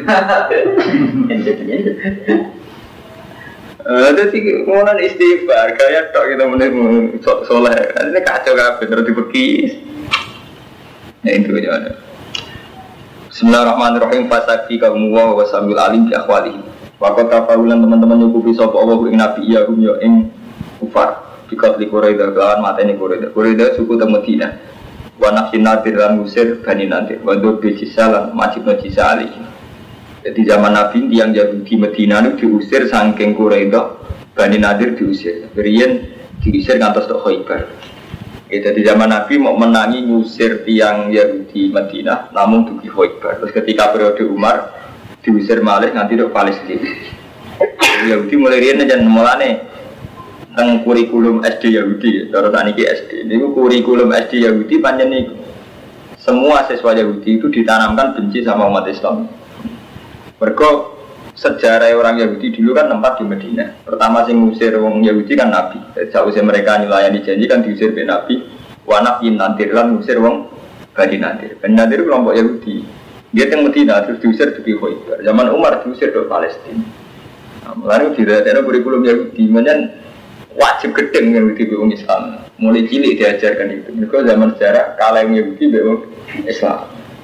Jadi kemudian istighfar, kayak tak kita menemui soleh. Ini kacau kan, bener dibekis. Ya itu aja ada. Bismillahirrahmanirrahim. Fasaki kaum wa sambil alim bi akhwalihi. Wa qad tafawulan teman-teman nyukupi sapa Allah ing nabi ya hum ya ing kufar. Bikat li Quraida kan mateni Quraida suku teng Madinah. Wa nafsin nadir lan musir bani nadir. Wa dur bi jisalan majibna jisali. Jadi zaman Nabi yang Yahudi Madinah itu diusir saking Quraida, bani nadir diusir. Berian diusir ngantos tok Khaibar. Jadi zaman Nabi mau menangi ngusir tiang Yahudi Madinah, namun dugi Khaibar. Terus ketika periode Umar diusir malih nanti ke Palestina. Yahudi mulai riyen jan mulane teng kurikulum SD Yahudi, cara saniki SD. Niku kurikulum SD Yahudi pancen niku. Semua siswa Yahudi itu ditanamkan benci sama umat Islam. Mergo sejarah orang Yahudi dulu kan tempat di Madinah. Pertama sing ngusir wong Yahudi kan Nabi. Sausé mereka nyulayani janji kan diusir be Nabi. Wa nafiin nantir lan ngusir wong Bani Nadir. Bani Nadir kelompok Yahudi. Dia teng Madinah terus diusir ke Khaibar. Zaman Umar diusir ke Palestina. Nah, mulane diratekno kurikulum Yahudi menyen wajib gedeng Yahudi be wong Islam. Mulai cilik diajarkan itu. Mergo zaman sejarah kalah Yahudi be wong Islam.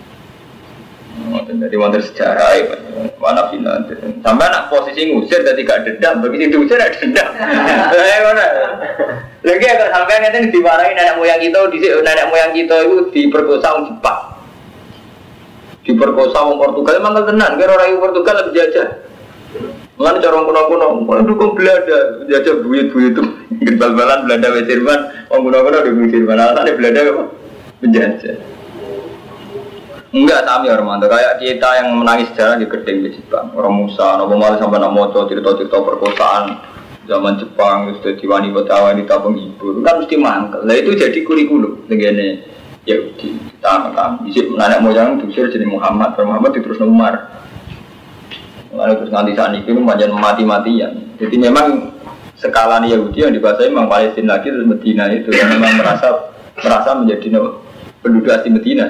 Jadi wonten sejarah ya, mana final. Sampai nak posisi ngusir jadi gak dendam, begitu diusir ada dendam. Mana? Lagi agak sampai nanti dimarahin nenek moyang kita itu diperkosa orang Jepang, diperkosa orang Portugal. Emang tenan, kira orang Portugal lebih jajah. Mana cara orang kuno, dukung Belanda, jajah buyut-buyut itu, bal-balan Belanda Jerman, orang kuno dukung Jerman. Alasannya Belanda apa? Menjajah. Enggak sami Armando, kayak kita yang menangis sejarah di gedeng di Jepang. Orang Musa, Nabi Muhammad sampai nak moco cerita-cerita perkosaan zaman Jepang, sudah wanita penghibur, kan mesti mangkel. Nah itu jadi kurikulum begini. Yahudi, kita isi nenek moyang diusir jadi Muhammad diterus Umar. Lalu terus nanti saat ini macam mati-matian. Jadi memang skala Yahudi yang dibahasai memang Palestina lagi terus Medina itu, yang memang merasa menjadi penduduk asli Medina.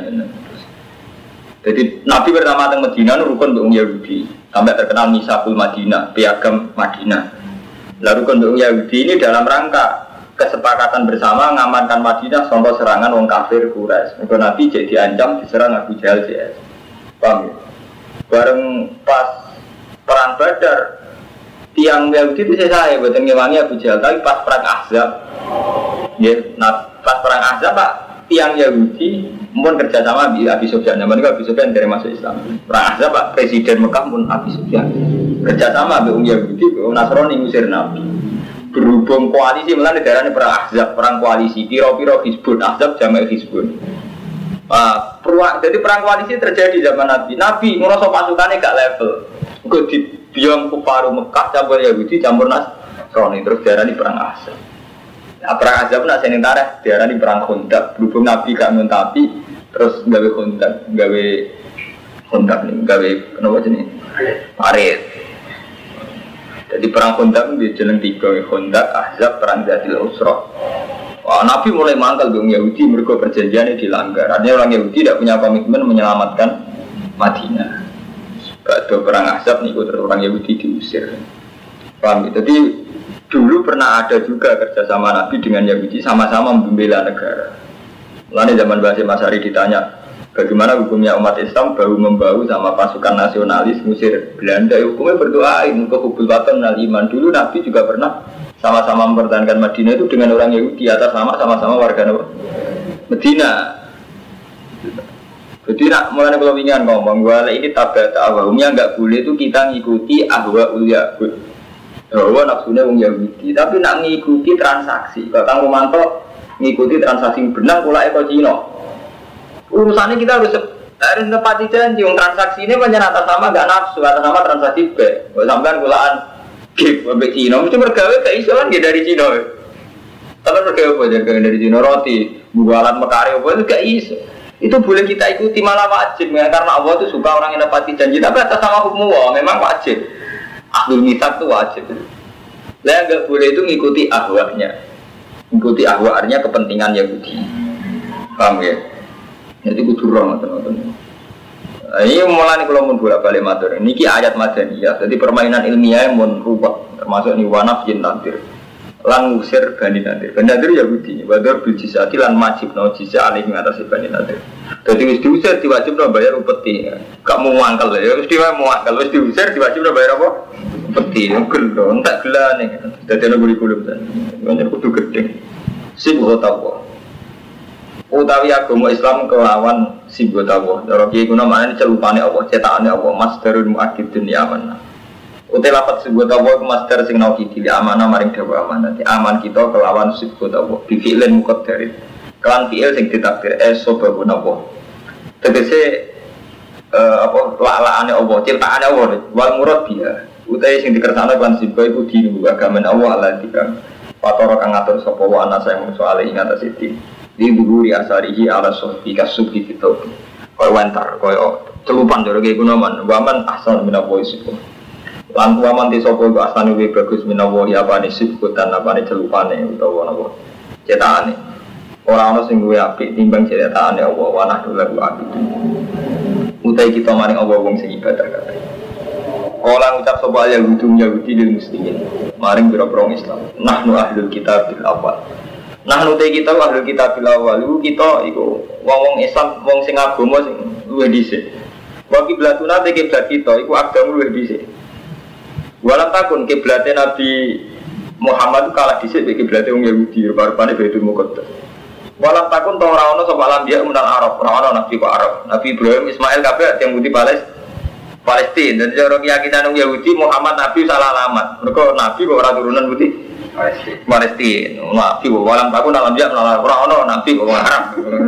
Jadi Nabi pertama datang Medina rukun untuk Yahudi sampai terkenal Misakul Madinah, piagam Madinah. Lalu rukun untuk Yahudi ini dalam rangka kesepakatan bersama mengamankan Madinah contoh serangan orang kafir Quraisy. Maka Nabi jadi diancam diserang Abu Jahal CS. Paham ya? Bareng pas perang Badar tiang Yahudi itu saya buatan ngewangi Abu Jahal, tapi pas perang Ahzab ya, pas perang Ahzab Pak tiang Yahudi mohon kerjasama Abi Sufyan. Zaman itu Abi Sufyan dari masuk Islam. Perang Ahzab Pak Presiden Mekah pun Abi Sufyan kerjasama dengan Yahudi, Nasrani ngusir Nabi. Berhubung koalisi melalui daerahnya perang Ahzab, perang koalisi piro-piro Hizbun, Ahzab jamak Hizbun. Jadi perang koalisi terjadi zaman Nabi. Nabi ngerasa pasukannya gak level. Gue dibiang kufaru Mekah campur Yahudi campur Nasrani terus daerahnya perang Ahzab. Nah, perang Ahzab nak seneng tareh daerahnya perang Khandaq. Berhubung Nabi gak nguntapi terus gawe Khandaq, gawe kenapa jenis parit. Jadi perang Khandaq itu jeneng 3, Khandaq, Ahzab, perang Zatil Usra. Wah, Nabi mulai mangkal dengan Yahudi mergo perjanjiannya dilanggar. Artinya orang Yahudi tidak punya komitmen menyelamatkan Madinah. Pada perang Ahzab niku terus orang Yahudi diusir. Paham? Jadi dulu pernah ada juga kerjasama Nabi dengan Yahudi sama-sama membela negara. Lalu zaman Basim Asy'ari ditanya, bagaimana hukumnya umat Islam bahu-membahu sama pasukan nasionalis ngusir Belanda? Hukumnya berdoain ke hubul watan minal iman. Dulu Nabi juga pernah sama-sama mempertahankan Madinah itu dengan orang Yahudi atas nama sama-sama warga Medina. Jadi nak mulai kalau ingin ngomong, wala ini tabat awalnya nggak boleh itu kita ngikuti ahwa Yahud. Bahwa nafsunya orang Yahudi, tapi nak ngikuti transaksi. Kalau Kang Romanto ngikuti transaksi benar, pula Eko Cino. Urusannya kita harus nepati janji. Yang transaksi ini banyak atas nama nggak nafsu, atas nama transaksi B. Kalau sampean kulaan gip sampai Cino, mesti bergawe keisolan dia dari Cino. Tapi bergawe apa aja dari Cino roti, bualan mekari apa itu gak iso. Itu boleh kita ikuti malah wajib ya, karena Allah itu suka orang yang nepati janji. Tapi atas nama hukum Allah memang wajib. Ahlul mitsaq itu wajib. Lah enggak boleh itu ngikuti ahwanya. Ngikuti ahwanya kepentingan Yahudi. Paham ya? Jadi kudu roh teman-teman. Ini mulai kalau mun bolak-balik matur. Niki ayat madaniyah. Jadi permainan ilmiah yang mun rubah termasuk ni wanaf jin nadir. Lan ngusir Bani Nadir. Bani Nadir Yahudi. Wadar bil jizati lan majibna jizah alih mengatasi Bani Nadir. Jadi wis diusir diwajibna bayar upeti. Gak mau mangkel ya. Wis mangkel wis diusir diwajibna bayar apa? Upeti. Gelo entek gelane. Dadi ana kurikulum ten. Banyak kudu gedhe. Sibuk tawa. Utawi agama Islam kelawan sibuk tawa. Cara kiye kuna maknane celupane Allah, cetakane Allah, masdarul muakkidun ya amanah. Utai lapat sebuah tawa masdar sing nauki dili amanah maring dawa amanah. Aman kita kelawan sibuk tawa. Bifi'lin muqaddarin. Kelan fi'il sing ditakdir sebabun Allah. Tegese lalaane Allah, ciptaane Allah, wal murad biha. Utai sing dikersakno kan sibuk iku dinu agama Allah Allah dikang. Fatara kang ngatur sapa wa ana saya mung soal ing atas iki. Di dhuwuri asarihi ala sufi kasufi kitab. Koyo wantar, koyo celupan jare iki gunaman. Waman asal minawa isiku. Lan waman te sapa iku asane luwih bagus minawa ya apane sibutan apane celupane utawa napa. Cetakane. Ora ana sing luwih apik timbang cetakane Allah wa nahdu lahu abid. Utai kita maring Allah wong sing ibadah kabeh. Orang ucap sapa Yahudi lil muslimin. maring biro-biro Islam. Nahnu ahlul kitabil awal. Nahnu te kita ahlul kitabil awal. Kita iku wong Islam, wong sing agama sing luwih dhisik. Wa kiblatuna te kiblat kita iku agama luwih dhisik. Walam takun kiblate Nabi Muhammad kalah dhisik mek kiblate wong Yahudi rupa-rupane Baitul Muqaddas. Walam takun to ora ono sapa lambiya menal Arab, ora ono nabi kok Arab. Nabi Ibrahim, Ismail kabeh yang Yahudi Palestina. Dan cara keyakinan orang Yahudi Muhammad Nabi salah alamat. Mereka Nabi kok orang turunan putih Palestina. Nabi kok walam takun alam dia orang Nabi kok Arab.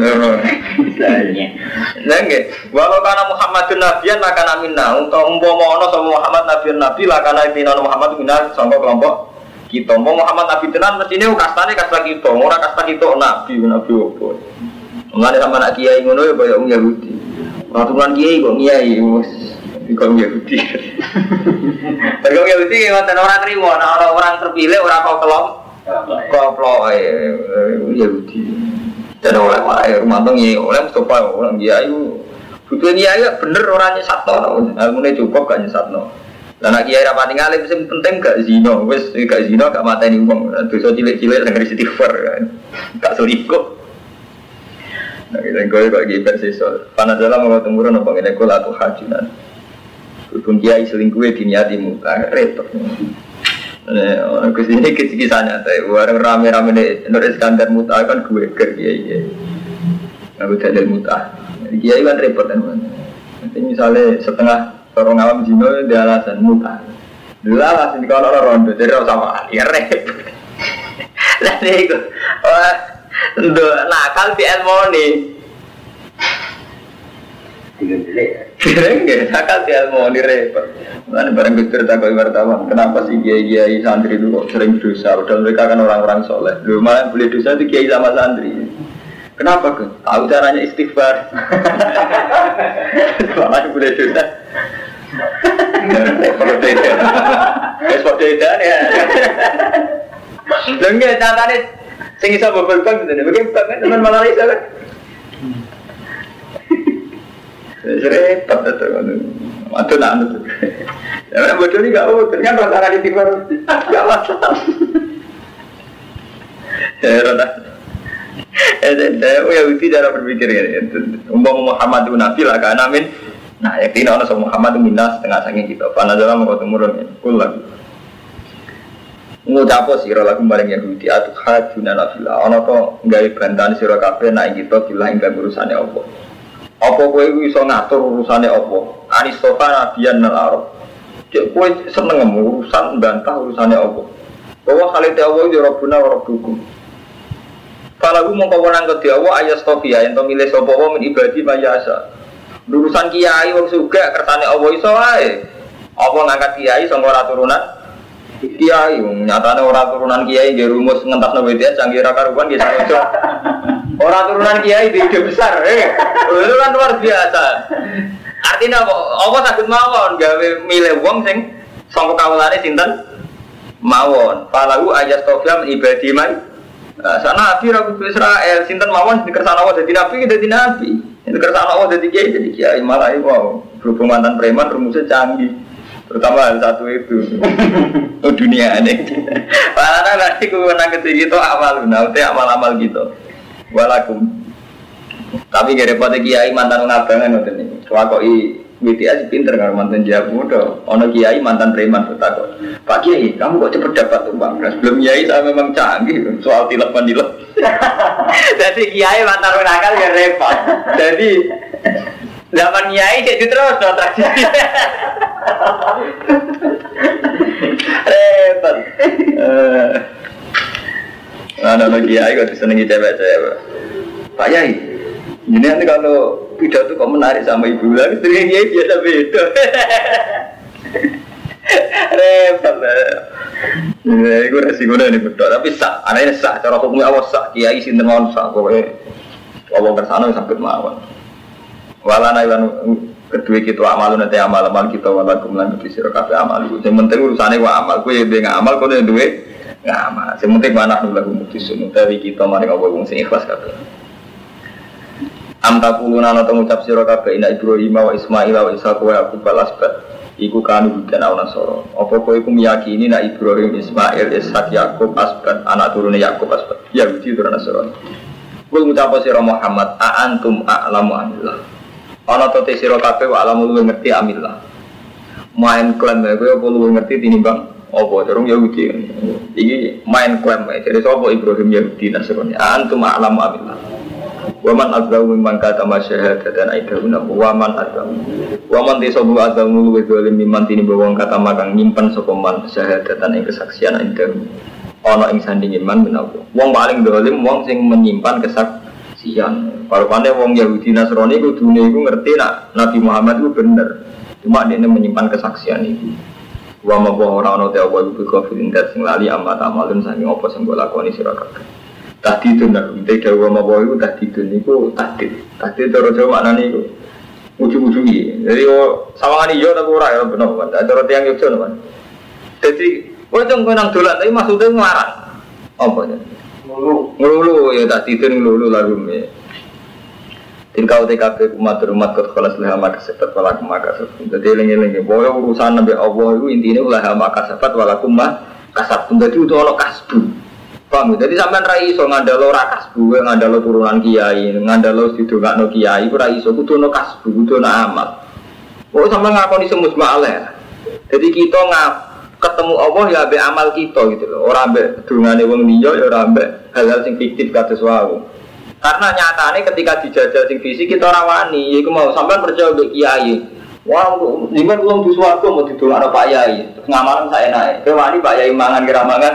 Nggih. Walau kana Muhammadun nabiyan la kana minna. Untuk umpama ana sama Muhammad Nabi la kana minna Muhammad minna sangka kelompok kita. Muhammad Nabi tenan mestine kastane kasta kita, ora kasta kita Nabi opo. Ngene sama nak kiai ngono ya kaya wong Yahudi. Aturan kiai kok kiai Ikon Yahudi. Ikon Yahudi ngoten ora trimo, ana orang terpilih ora kok kelompok Yahudi. Dan oleh wae rumah tangga oleh Mustafa orang kiai. Butuh kiai bener ora nyesatno. Ngene cukup gak nyesatno. Lah nek kiai ra pati ngalim sing penting gak zina, wis gak zina gak mateni wong. Dosa cilik-cilik sing istighfar kan. Gak selingkuh. Nah, kita kok iki persisol. Panadala mau temurun apa ngene kula atuh hajunan. Pun kiai selingkuh diniati muta repot. Orang kesini kisah-kisahnya, orang rame-rame Nur Iskandar muta kan gue kiai. Aku jadi muta. Kiai kan repot kan. Nanti misalnya setengah orang awam Cina dia alasan muta. Dulu alasan di kalau rondo jadi orang sama ya repot. Nanti itu, untuk nakal di Elmoni. Enggak, nakal di Elmoni repot. Mana barang Gustur takut wartawan. Kenapa sih kiai santri itu kok sering dosa? Padahal mereka kan orang-orang soleh. Lu malah yang boleh dosa itu kiai sama santri. Kenapa ke? Tahu caranya istighfar. Malah yang boleh dosa. Kalau beda, seperti itu ya. Enggak, catanya sing iso bobol-bol gitu. Bagaimana kan teman malah iso kan? Repot itu kan. Aduh nak itu. Ya bodoh ni gak bodoh kan rasa di timur gak masalah. Heran. Yahudi cara berpikir ini. Umpama Muhammad itu nabi lah kan amin. Nah, yakin ana sama Muhammad itu minas setengah saking kita. Panadala mau temurun kula. Ngucapo sira lagu bareng Yahudi atuh hajuna nafila. Ana to gawe bantahan sira kabeh nek kita bilah ing urusane apa. Apa kowe iso ngatur urusane apa? Aristofa nabiyan nal Arab. Cek kowe seneng urusan bantah urusane apa? Bahwa khalite Allah ya Rabbuna wa Rabbukum. Kalau mongko wenang kedhi Allah ayastofia ento milih sapa wae min ibadi mayasa. Urusan kiai wong sugih kersane Allah iso wae. Apa ngangkat kiai sangka ora turunan kiai nyatane ora turunan kiai nggih rumus ngentasno WTS canggih ra karuan nggih sarojo. Ora turunan kiai di ide besar. Itu kan luar biasa. Artinya apa saged mawon gawe milih wong sing sangka kawulane sinten mawon. Falahu ayastofia min ibadi man sana nabi Rabu Israel sinten mawon dikersane Allah dadi nabi dadi nabi. Dikersane Allah dadi kiai malah iku berhubung mantan preman rumusnya canggih. Terutama hal satu itu. Dunia ini. Karena nanti ku menang ketiga itu amal gitu. Walakum. Tapi gak repot kiai mantan ngabangan ngoten niku. Wakoi WTS pinter karo mantan jago muda. Ono kiai mantan preman takut. Pak Kiai, kamu kok cepet dapat uang? Sebelum kiai saya memang canggih soal tilepan. Jadi kiai mantan nakal ya repot. Jadi zaman kiai jadi terus tradisi. Repot. Ada kiai kok disenengi cewek-cewek. Pak Yai, ini nanti kalau pidato kok menarik sama ibu lagi, sering kiai biasa beda. Repot lah. Ini gue resikonya ini betul, tapi sah. Anaknya sah, cara hukumnya awas sah. Kiai sinten mawon sah, pokoknya Allah bersana sampai mawon. Walana iwan kedua kita amal nanti amal kita walakum lan kedua sira kabeh amal. Yang penting urusane wa amal. Kowe dhewe ngamal, kowe duwe ngamal. Yang penting manah lagu mutusun utawi kita maring apa wong sing ikhlas kabeh. Am taquluna ana ngucap sira kabeh ina Ibrahim wa Ismail wa Ishaq wa Yaqub al-asbat. iku kanu dan Nasara. Apa kowe iku meyakini nek Ibrahim, Ismail, Ishak, Yakub, Asbat, anak turune Yakub, Asbat. Yahudi turun Nasrani. Kul ngucap sira Muhammad, a antum a'lamu amillah. Ana to te sira kabeh wa alamu luwih ngerti amillah. Main klaim kowe apa luwih ngerti tinimbang apa durung Yahudi. Iki main klaim jadi sapa Ibrahim Yahudi Nasrani. A antum a'lamu amillah. Wa man azzamu mimman katama syahadatan aidahuna wa man azzamu. Wa man tisabu azzamu luwih zalim mimman tinimbang katama kang nyimpen sapa man syahadatan ing kesaksian aidahuna. Ana ing sandinge man menawa wong paling dolim wong sing menyimpan kesaksian. Parupane wong Yahudi Nasrani kudune iku ngerti nak Nabi Muhammad itu bener. Cuma dia menyimpan kesaksian itu. Wa ma ora ana te apa iku kafirin dat sing lali amat amalun saking apa sing mbok lakoni sira kabeh. Tahdidun nak te dawa ma iku tahdidun niku tahdid. Tahdid cara Jawa maknane iku ujug-ujugi. Jadi sawangane yo tapi ora ya bener. Cara tiyang yo jono kan. Dadi kowe cung nang dolan tapi maksudnya nglarang. Apa ya? Ngelulu ya tak tidur ngelulu lagu me. Tingkau TKP umat kot kelas leha maka sepat walakum maka sepat. Jadi lengi-lengi boleh urusan nabi Allah itu intinya leha maka sepat walakum maka sepat. Jadi itu ono kasbu. Paham? Jadi sampean ra iso ngandalo ra kasbu, ngandalo turunan kiai, ngandalo sidongakno kiai, ora iso kudu ono kasbu, kudu ono amal. Oh sampean ngakoni semus ma'aleh. Jadi kita ketemu Allah ya ambek amal kita gitu loh. Ora ambek dungane wong liya ya ora ambek hal-hal sing fiktif kados wae. Karena nyatane ketika dijajal sing fisik kita ora wani, yaiku mau sampean percaya mbek kiai. Wah, jenengan wong di swarga mau didongakno Pak Yai. Ngamalan saenake. Kowe wani Pak Yai mangan kira mangan.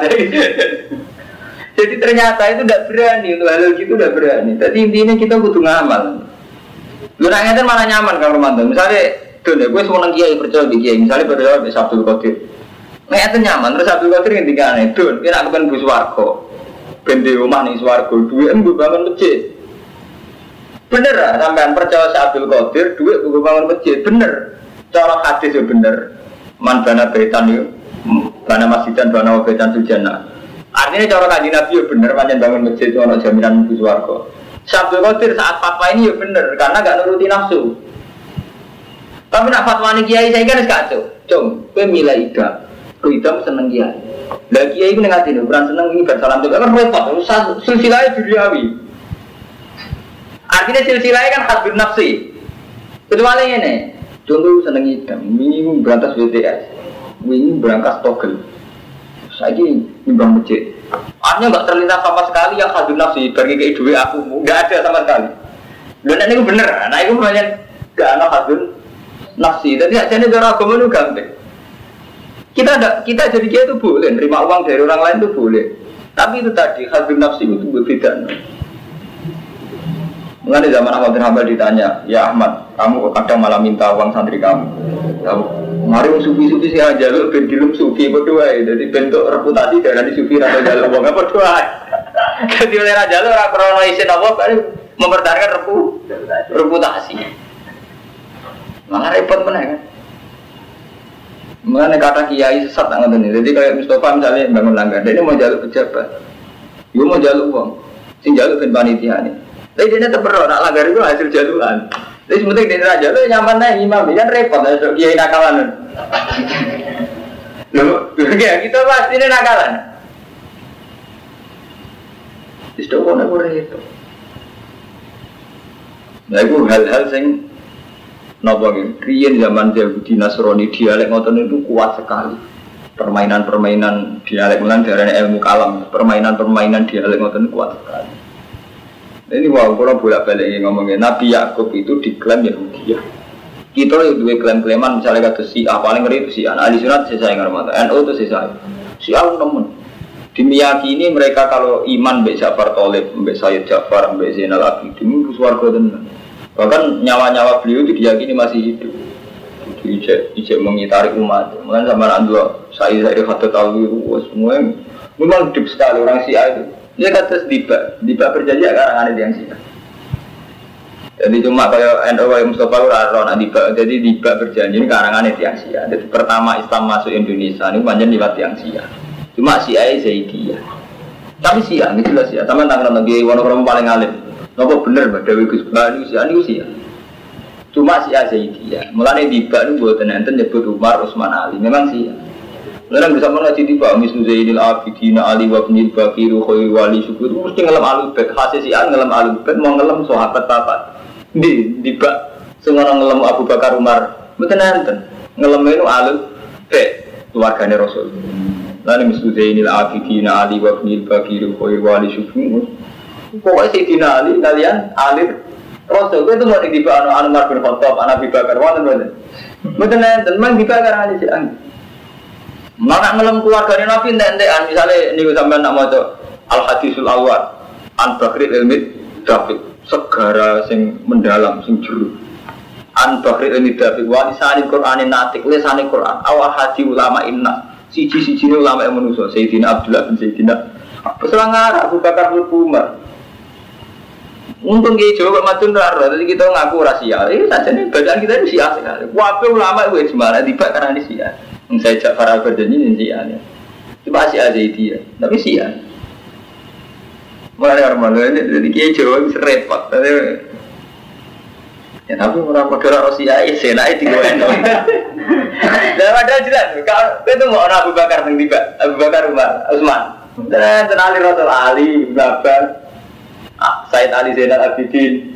Jadi ternyata itu tidak berani, untuk hal gitu tidak berani. Jadi intinya kita kudu ngamal. Lu nak ngeten malah nyaman Kang Romanto. Misalnya, don ya gue seneng kiai percaya mbek kiai, misalnya percaya mbek Abdul Qadir. Nek itu nyaman, terus Abdul Qadir ngendikane, "Dun, kowe nak kepen bu swarga. Ben di omah ning swarga, duwe mbok bangun masjid." Bener ah, sampean percaya si Abdul Qadir, duwe mbok bangun masjid, bener. Cara hadis yo bener. Man bana baitan yo, bana masjidan bana baitan sujana. Artinya cara kanjeng Nabi yo bener, pancen bangun masjid ono jaminan bu swarga. Si Abdul Qadir saat fatwa ini yo bener, karena gak nuruti nafsu. Tapi nak fatwa ni kiai saya kan kacau. Cung, kowe milih ida. Kuidam seneng kiai. Lah kiai iku ning atine ukuran seneng iki bar salam kan repot. Silsilah duniawi. Artinya silsilah kan hadun nafsi. Kecuali ngene. Contoh seneng idam, wingi berantas WTS. Wingi berangkas togel. Saiki nimbang masjid. Artinya enggak terlintas sama sekali yang hadun nafsi bagi ke duwe aku. Enggak ada sama sekali. Lha nek niku bener. Nah iku pancen gak ana hadun nafsi. Dadi ajane cara agama niku gampang. Kita jadi dia itu boleh, nerima uang dari orang lain itu boleh. Tapi itu tadi, hadun nafsi itu berbeda. Mengenai zaman Ahmad bin Hanbal ditanya, "Ya Ahmad, kamu kadang malah minta uang santri kamu. Mari sufi-sufi sih aja, lu ben dilem sufi berdua. Jadi bentuk reputasi dari sufi atau jalan uang apa berdua. Jadi oleh raja lu orang krono isin apa, mempertahankan reputasi. Malah repot mana kan? Mengenai kata kiai sesat tak ngerti. Jadi kayak Mustafa misalnya bangun langgar, dia ini mau jaluk pejabat, dia mau jaluk uang, sing jaluk ben panitia nih. Tapi dia tetap berdoa, nak langgar itu hasil jaluan. Jadi sementing dia raja, lu nyaman nih imam, kan repot, ada kiai nakalan. Loh, kita pasti ini nakalan. Istirahat aku itu. Nah itu hal-hal sing napa nggih, riyen zaman Yahudi Nasrani dialek ngoten itu kuat sekali. Permainan-permainan dialek menan darane ilmu kalam, permainan-permainan dialek ngoten kuat sekali. Ini wow, kalau bolak-balik ngomongin Nabi Yakub itu diklaim Yahudi. Kita itu dua klaim-klaiman misalnya kata si A paling ngeri itu si A. Ahli sunat si saya ngarmata, NU itu si saya. Si A nemen. Dimeyakini mereka kalau iman mbek Ja'far Thalib, mbek Sayyid Ja'far, mbek Zainal Abidin itu swarga tenan. Bahkan nyawa-nyawa beliau itu diyakini masih hidup. Ijek mengitari umat. Mungkin sama Andua, saya kata tahu semua memang hidup sekali orang Syiah itu. Dia kata Diba berjanji akan ada yang Syiah. Jadi cuma kayak NU Mustafa Ura Diba. Jadi Diba berjanji ini karangan yang Syiah. Jadi pertama Islam masuk Indonesia ini panjang lewat yang Syiah. Cuma Syiah Zaidiyah. Tapi Syiah ini jelas Syiah. Sama tanggal lagi Wonokromo paling alim. Napa bener Mbak Dewi Gus Bani usia ini usia. Cuma si Zaidiyah. Mulane tiba itu buatan enten nyebut Umar, Utsman, Ali. Memang sih. Mulane bisa ngaji tiba mislu Zainil Abidin, Ali wa Ibnul Bakir, Khairul Wali Syukur mesti ngelem Ahlul Bait. Hasil si An ngelem Ahlul Bait mau ngelem sahabat papat. Tiba sing ora ngelem Abu Bakar Umar. Mboten enten. Ngelem itu Ahlul Bait, keluargane Rasul. Lalu mislu Zainil Abidin, Ali wa Ibnul Bakir, Khairul Wali Syukur. Pokoknya Sayyidina Ali kalian alir Rasul itu mau dibahas Umar bin Khattab, Nabi Bakar, wonten. Mboten enten, mang dibahas Ali si An. Mana ngelem keluargane Nabi entek-entekan, misale niku sampean nak maca Al Hadisul Awwal, An Bakri Ilmi Dafiq, segara sing mendalam, sing jero. An Bakri Ilmi Dafiq wa lisani Qur'anin natik, lisane Qur'an, awal hadi ulama inna. Siji-sijine ulama yang manusa, Sayyidina Abdullah bin Sayyidina Peselangar Abu Bakar bin Umar. Untung dia jawab matun raro, jadi kita ngaku rahasia. Saja nih bacaan kita itu sia sekali. Wape ulama itu ijma, tiba karena ini sia. Saya Ja'far al-Bardani ini sia. Cuma sia aja itu ya, tapi sia. Mulai normal ini, jadi dia jawab bisa repot. Ya tapi orang modal rahasia, senai di gue eno. Dan ada jelas, kalau itu mau orang Abu Bakar yang tiba, Abu Bakar Umar, Utsman. Dan Ali Rasul Ali, Babar, Said Ali Zainal Abidin,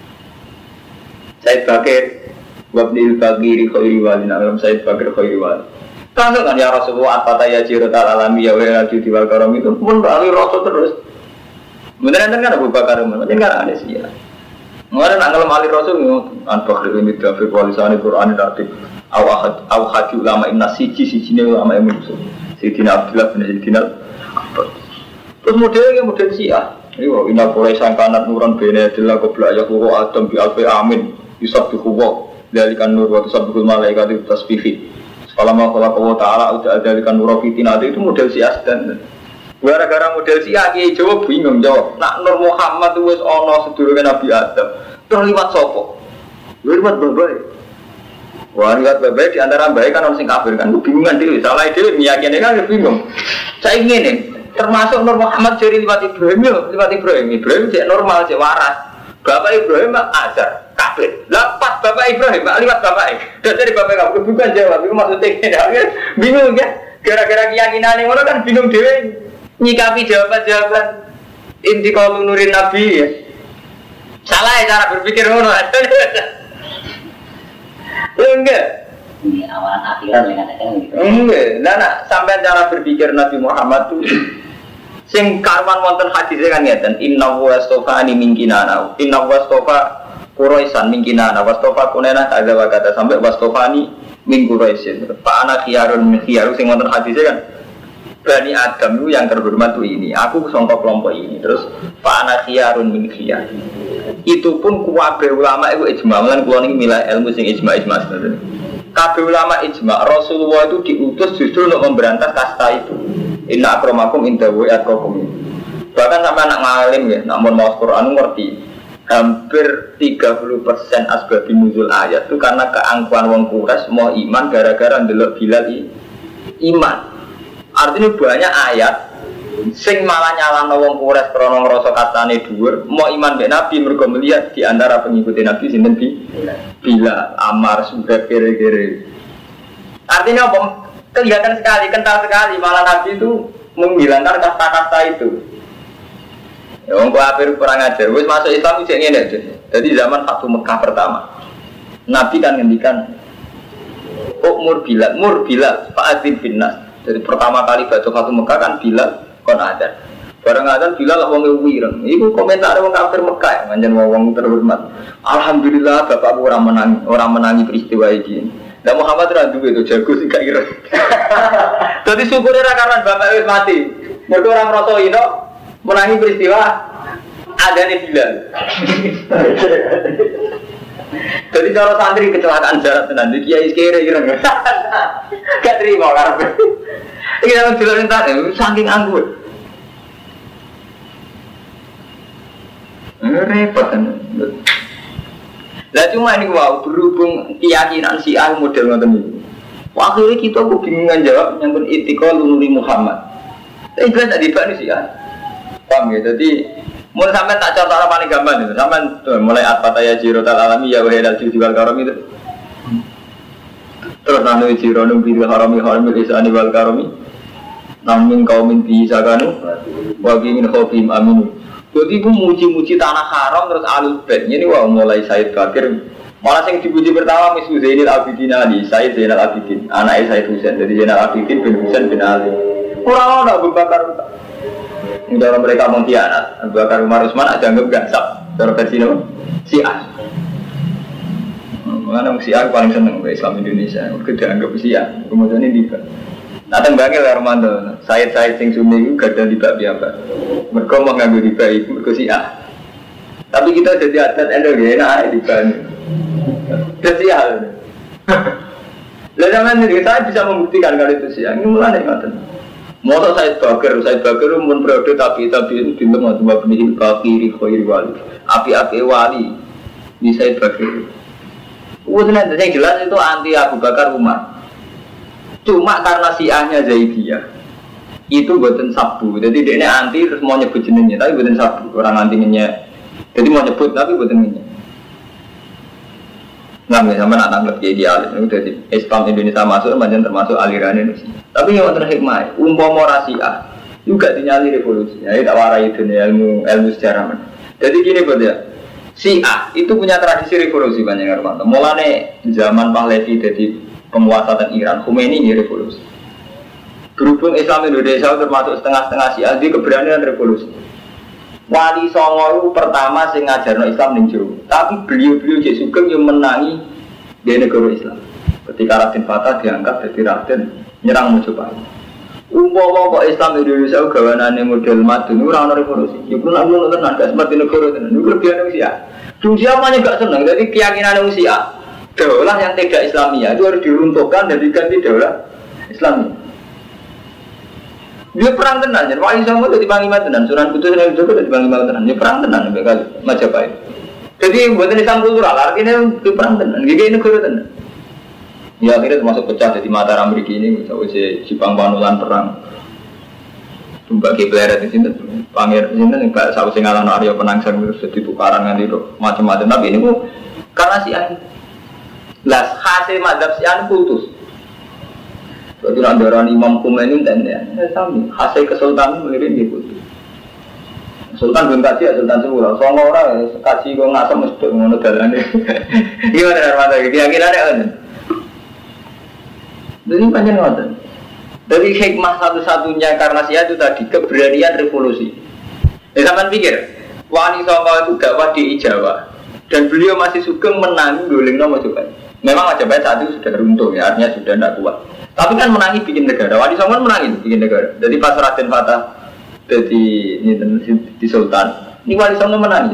Said Bakir, Wabnil Bagiri Khairi Wali, Nabi Said Bakir Khairi Wali. Langsung kan ya Rasulullah At-Fatah ya Jirotal Alami ya Wal Adi Wal Karam itu pun Ali Rasul terus. Beneran kan Abu Bakar Umar, macam kan ada sih ya. Mengenai nak ngelam Ali Rasul, An Bakri ini Dafiq Walisani Quran Dafiq. Aw hadi ulama inna siji-sijine ulama yang musuh. Sayyidina Abdullah bin Sayyidina Abbas. Terus modelnya model Syiah. Iwa inna Quraisyan kanat nuran bene adalah qabla yaqulu Adam bi alfi amin yusabbihu wa dzalikan nur wa tusabbihul malaikatu tasbihi. Salama Allah taala udah dzalikan nur fitinati itu model Syiah dan gara-gara model Syiah ki jawab bingung jawab. Nak Nur Muhammad wis ana sedurunge Nabi Adam. Terus liwat sapa? Liwat babai. Wah, lihat baik di antara baik kan orang sing kafir kan, bingungan diri, salah ide, meyakini kan bingung. Saya ingin nih, termasuk Nur Muhammad jadi lewat Ibrahim jadi normal, jadi waras. Bapak Ibrahim azar, kafir. Lepas Bapak Ibrahim, lewat Bapak. Dan dari Bapak kamu bukan jawab, itu maksudnya bingung ya. Gara-gara keyakinan yang orang kan bingung dewe, nyikapi jawaban-jawaban inti kalau nurin Nabi ya. Salah ya cara berpikir ngono. Enggak. Ini awalan akhiran yang katakan gitu. Enggak. Nah, sampai cara berpikir Nabi Muhammad tuh sing karwan wonten hadisnya kan ngeten, inna wastofani min kinana. Inna wastofa Quraisan min kinana, wastofa kunena kadza wa kata sampai wastofani min Quraisin. Pak anak khiyarun min khiyarun sing wonten hadisnya kan Bani Adam itu yang terhormat tuh ini. Aku sangka kelompok ini. Terus Pak anak khiyarun min khiyar. Itu pun kabeh ulama itu ijma, lan kula niki milah ilmu sing ijma sebenarnya. Kabeh ulama ijma, Rasulullah itu diutus justru untuk memberantas kasta itu. Inna akramakum indallahi atqakum. Bahkan sampai anak ngalim ya, namun mau Quran ngerti. Hampir 30% asbabun nuzul ayat itu karena keangkuhan wong Quraisy mau iman gara-gara ndelok Bilal iman. Artinya banyak ayat sing malah nyalahno wong Quraisy krana ngrasa katane dhuwur, mau iman mek Nabi mergo melihat di antara pengikut Nabi sinten Bilal, Ammar, Subair kere-kere. Artinya apa? Kelihatan sekali, kental sekali malah Nabi itu menghilangkan kasta-kasta itu. Ya wong kafir kurang ajar, wis masuk Islam iki ngene aja. Jadi zaman Fatu Mekah pertama. Nabi kan ngendikan mur Bilal, fa'adzin binnas. Jadi pertama kali baca Fatu Mekah kan Bilal kon ada. Bareng ada Bilal wong wireng. Iku komentar wong kafir Mekah, manjen wong terhormat. Alhamdulillah bapakku ora menangi peristiwa iki. Lah Muhammad ra duwe itu jago sing gak ireng. Dadi syukure ra karena bapak wis mati. Mergo ora ngrasa ino menangi peristiwa adane Bilal. Jadi cara santri kecelakaan jarak tenan iki kiai kere ireng. Gak terima karepe. Iki nang dilok entar saking anggur. Repot kan. Lah cuma ini wow berhubung keyakinan Syiah model ngoten iki. Akhirnya kita kebingungan jawab nyangkut itikal nuri Muhammad. Tapi jelas tadi Pak ini Syiah. Paham ya? Jadi Mulai sampai tak contoh paling gampang itu, sampai mulai at-fataya jirotal alami ya wahidal jual karom itu. Terus nanu jironum bil harami haramil isani wal karomi. Namin kaumin bisa kanu, bagi min khofim aminu. Jadi aku muji-muji tanah haram terus alul bed. Ini wah mulai Said Bakir. Malah yang dipuji pertama Miss Zainal Abidin Ali, Said Zainal Abidin, anaknya Said Husain. Jadi Zainal Abidin bin Husain bin Ali. Orang-orang Abu Bakar. Dalam mereka mengkhianat. Abu Bakar Umar Utsman ada anggap gansap. Cara versi nama Syiah. Mengenai Syiah paling seneng ke Islam Indonesia. Kita anggap Syiah. Kemudian ini tiba. Nateng bangil ya Romanto, Said sing Sunni itu gak ada riba biasa. Mereka mau ngambil riba itu, mereka Syiah. Tapi kita jadi adat enak riba ini. Jadi Syiah. Lalu zaman ini saya bisa membuktikan kalau itu Syiah. Ini mulai ngaten. Motor Said Bakir umum periode tapi itu bintang atau babnihil kafiri khairi wali. Api-api wali di Said Bakir. Udah yang jelas itu anti Abu Bakar Umar. Cuma karena Syiahnya Zaidiyah itu buatan sabu, jadi dia anti terus mau nyebut jenengnya, tapi buatan sabu orang antinya, jadi mau nyebut tapi buatan jenengnya. Nggak sama nak tangkap kayak idealis, itu dari Islam Indonesia masuk, macam termasuk aliran Indonesia. Tapi yang terakhir hikmah, umpama Syiah juga dinyali revolusi, ya tak warai itu nih ilmu sejarah. Jadi gini buat ya, Syiah itu punya tradisi revolusi banyak orang. Mulane zaman Pahlavi jadi penguasa dan Iran, Khomeini ini revolusi. Berhubung Islam Indonesia termasuk setengah-setengah Syiah, dia keberanian revolusi. Wali Songo pertama sing ngajarno Islam ning Jawa, tapi beliau-beliau Cek Sugeng yang menangi di negara Islam. Ketika Raden Fatah diangkat jadi Raden nyerang Mojopahit. Umpama kok Islam Indonesia gawanane model madun ora ana revolusi. Iku nak ngono tenan gak seperti negara tenan. Niku lebihane Syiah. Syiah manya gak seneng, jadi keyakinan Syiah. Daulah yang tidak Islamiyah itu harus diruntuhkan dan diganti daulah Islamiyah. Dia perang tenan, jadi Wali Songo itu dipanggil tenan, Sunan Kudus dan Joko itu dipanggil tenan. Dia perang tenan, kali Majapahit. Jadi buatan Islam kultural, artinya dia perang tenan, gini negara tenan. Ya akhirnya termasuk pecah jadi Mataram Amerika ini, misalnya Jepang Panulan perang. Tumbak Kiblaret di sini, Pangir di sini, nggak sahabat singalan Arya Penangsang terus jadi tukaran nanti macam-macam. Tapi ini bu karena Syiah. Lah hasil mazhab Syiah putus. Berarti andaran Imam Khomeini dan ya sami. Hasil kesultanan melirik dia putus. Sultan belum kaji ya Sultan Sula. Soalnya orang kaji kok ngasam mesti ngono dalane. Gimana Armada? Keyakinannya kan? Jadi panjang ngoten. Jadi hikmah satu-satunya karena Syiah itu tadi keberanian revolusi. Sampean pikir, Wali Songo itu dakwah di Jawa dan beliau masih sugeng menangi goleng nomor juga. Memang Majapahit saat itu sudah runtuh ya, artinya sudah tidak kuat. Tapi kan menangi bikin negara. Wali Songo menangi bikin negara. Jadi pas Raden Fatah jadi di Sultan, ini Wali Songo menangi.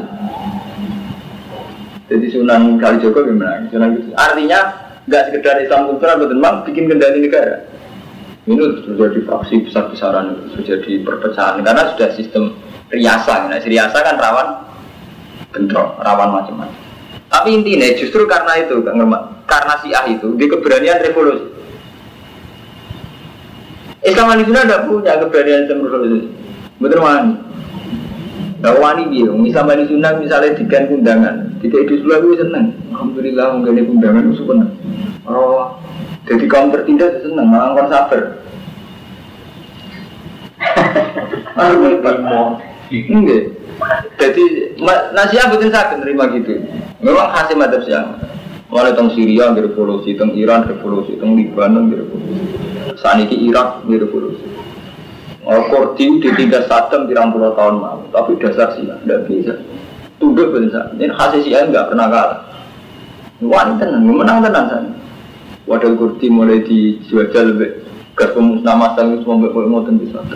Jadi Sunan Kalijogo menangi. Artinya nggak sekedar Islam kultural, betul memang bikin kendali negara. Ini sudah jadi fraksi besar-besaran, sudah jadi perpecahan karena sudah sistem riasa. Nah, riasa kan rawan bentrok, rawan macam-macam. Tapi intinya justru karena itu, karena Syiah itu, di keberanian revolusi. Islam Indonesia tidak punya keberanian revolusi. Betul wani. Tidak wani dia. Islam Indonesia misalnya dikan undangan, tidak itu selalu senang. Alhamdulillah mengenai undangan itu senang. Oh, jadi kaum tertindas senang, malah kon sabar. Enggak. Jadi Syiah betul sakit terima gitu. Memang hasil madzhab Syiah. Mulai teng Syria revolusi, teng Iran revolusi, teng Libanon revolusi. Saniki Irak revolusi. Kurdi ditinggal Saddam 30 tahun lalu, tapi dasar Syiah tidak bisa. Tunduk betul sakit. Ini hasil Syiah enggak pernah kalah. Wani tenan, menang tenan sana. Wadah Kurdi mulai dijajal lebih gas pemusnah masal itu sampai mau tentu bisa.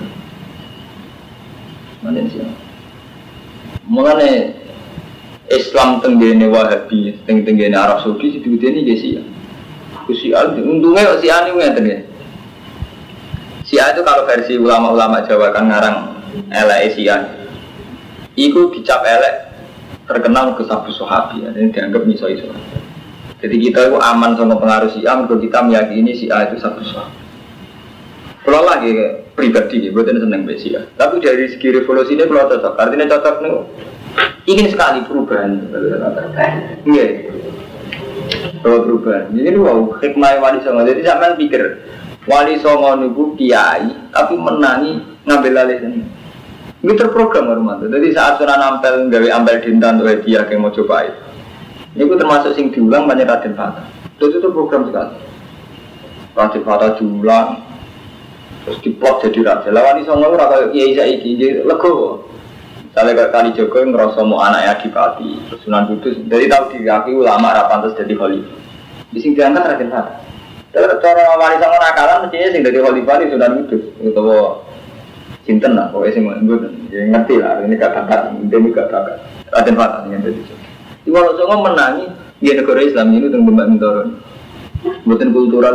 Mana Syiah? Mengenai Islam tenggene Wahabi, tenggene Arab Saudi situ ini jadi Syiah. Syiah untungnya Syiah ini ngeten ya. Syiah itu kalau versi ulama-ulama Jawa kan ngarang elek Syiah. Iku dicap elek terkenal ke sabu Sahabi ya, dan dianggap miso-iso. Jadi kita itu aman sama pengaruh Syiah, kalau kita meyakini Syiah itu sabu Sahabi. Kalau lagi pribadi, buatan seneng besi ya. Tapi dari segi revolusi ini kalau cocok, artinya cocok nih. Ingin sekali perubahan. Iya. Kalau perubahan. Jadi wow, hikmah Wali Songo. Jadi sampean pikir Wali Songo niku kiai, tapi menangi ngambil alih ini. Ini terprogram Romanto. Jadi saat Sunan Ampel gawe Ampel Dinten oleh dia yang mau coba itu termasuk sing diulang banyak Raden Fata. Itu program sekali. Raden Fata diulang. Terus diplot jadi raja. Lawan iso ngono ora kaya kiai saiki lego. Sale kali Joko ngrasa mau anake adipati, terus Sunan Kudus. Jadi tahu diakui ulama ra pantes dadi khalifah. Di sing diangkat Raden Fata. Terus cara wali songo nakalan mestinya sing dadi khalifah di Sunan Kudus utawa sinten lah pokoke sing mboten. Ya ngerti lah ini gak bakat, ini gak bakat. Raden Fata yang dadi. Di Wali Songo menangi di negara Islam ini teng Mbak Mintoron. Mboten kultural.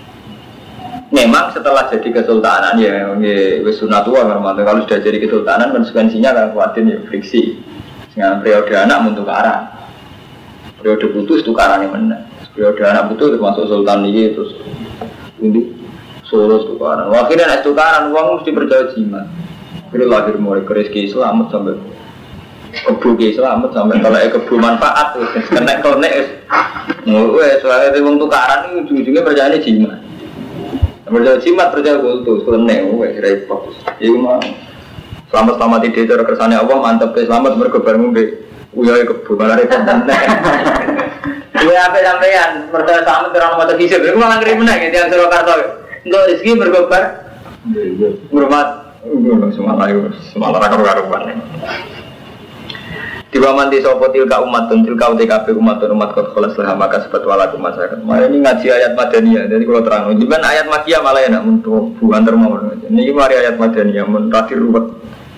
Memang setelah jadi kesultanan ya wis sunatullah Romanto. Kalau sudah jadi kesultanan konsekuensinya kan kuatin ya friksi. Dengan periode anak untuk arah. Periode putus tukarannya menang. Periode anak putus termasuk sultan ini terus untuk Solo tukaran. Akhirnya nek tukaran uang mesti percaya jimat. Kira lahir mulai rezeki selamat sampai kebu selamat sampai kalau kebu manfaat terus kena konek. Soalnya wong tukaran itu ujung-ujungnya percayanya jimat. Percaya jimat, percaya kultus, keleneng, repot. Iku mah selamat ide cara kersane Allah mantep selamat mergo bareng mbek uyahe kebo malah repot tenan. Iya apa sampean percaya selamat ora ono hisab. Iku malah ngeri meneh ya tiyang Surakarta. Untuk rezeki mergo bar hormat semalah karo-karuan. Diwaman di sopo tilka umatun tilka UTKB umatun umat kot kholas lah maka sebat walaku masyarakat. Ini ngaji ayat Madaniyah. Jadi kalau terang, cuman ayat Makkiyah malah enak untuk bukan termawar. Ini mari ayat Madaniyah mentraktir ruwet.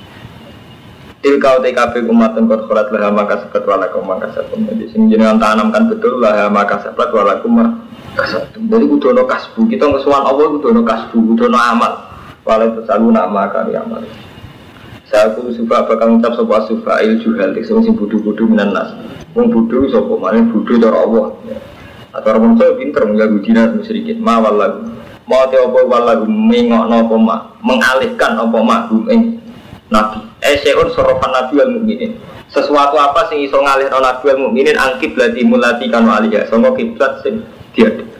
Tilka UTKB umatun kot kholas lah maka sebat walaku maka sebat. Jadi sing jenengan tanamkan betul lah maka sebat walaku maka sebat. Jadi kudono kasbu kita ngesuwan Allah kudono kasbu kudono amal. Walau tersalu nama kali amal. Saya aku suka bakal ngucap sopa sufail juhal sing budu-budu minan nas. Wong budu sopa maning budu cara Allah. Atau orang saya pinter mengganggu dinas sedikit. Ma wallagu. Mau te apa wallagu mengokno apa ma, mengalihkan apa ma ing nabi. Seun sorofan nabi wal mukminin. Sesuatu apa sing iso ngalihno nabi wal mukminin angkib lati mulati kan aliyah. Sangka kiblat sing diadep.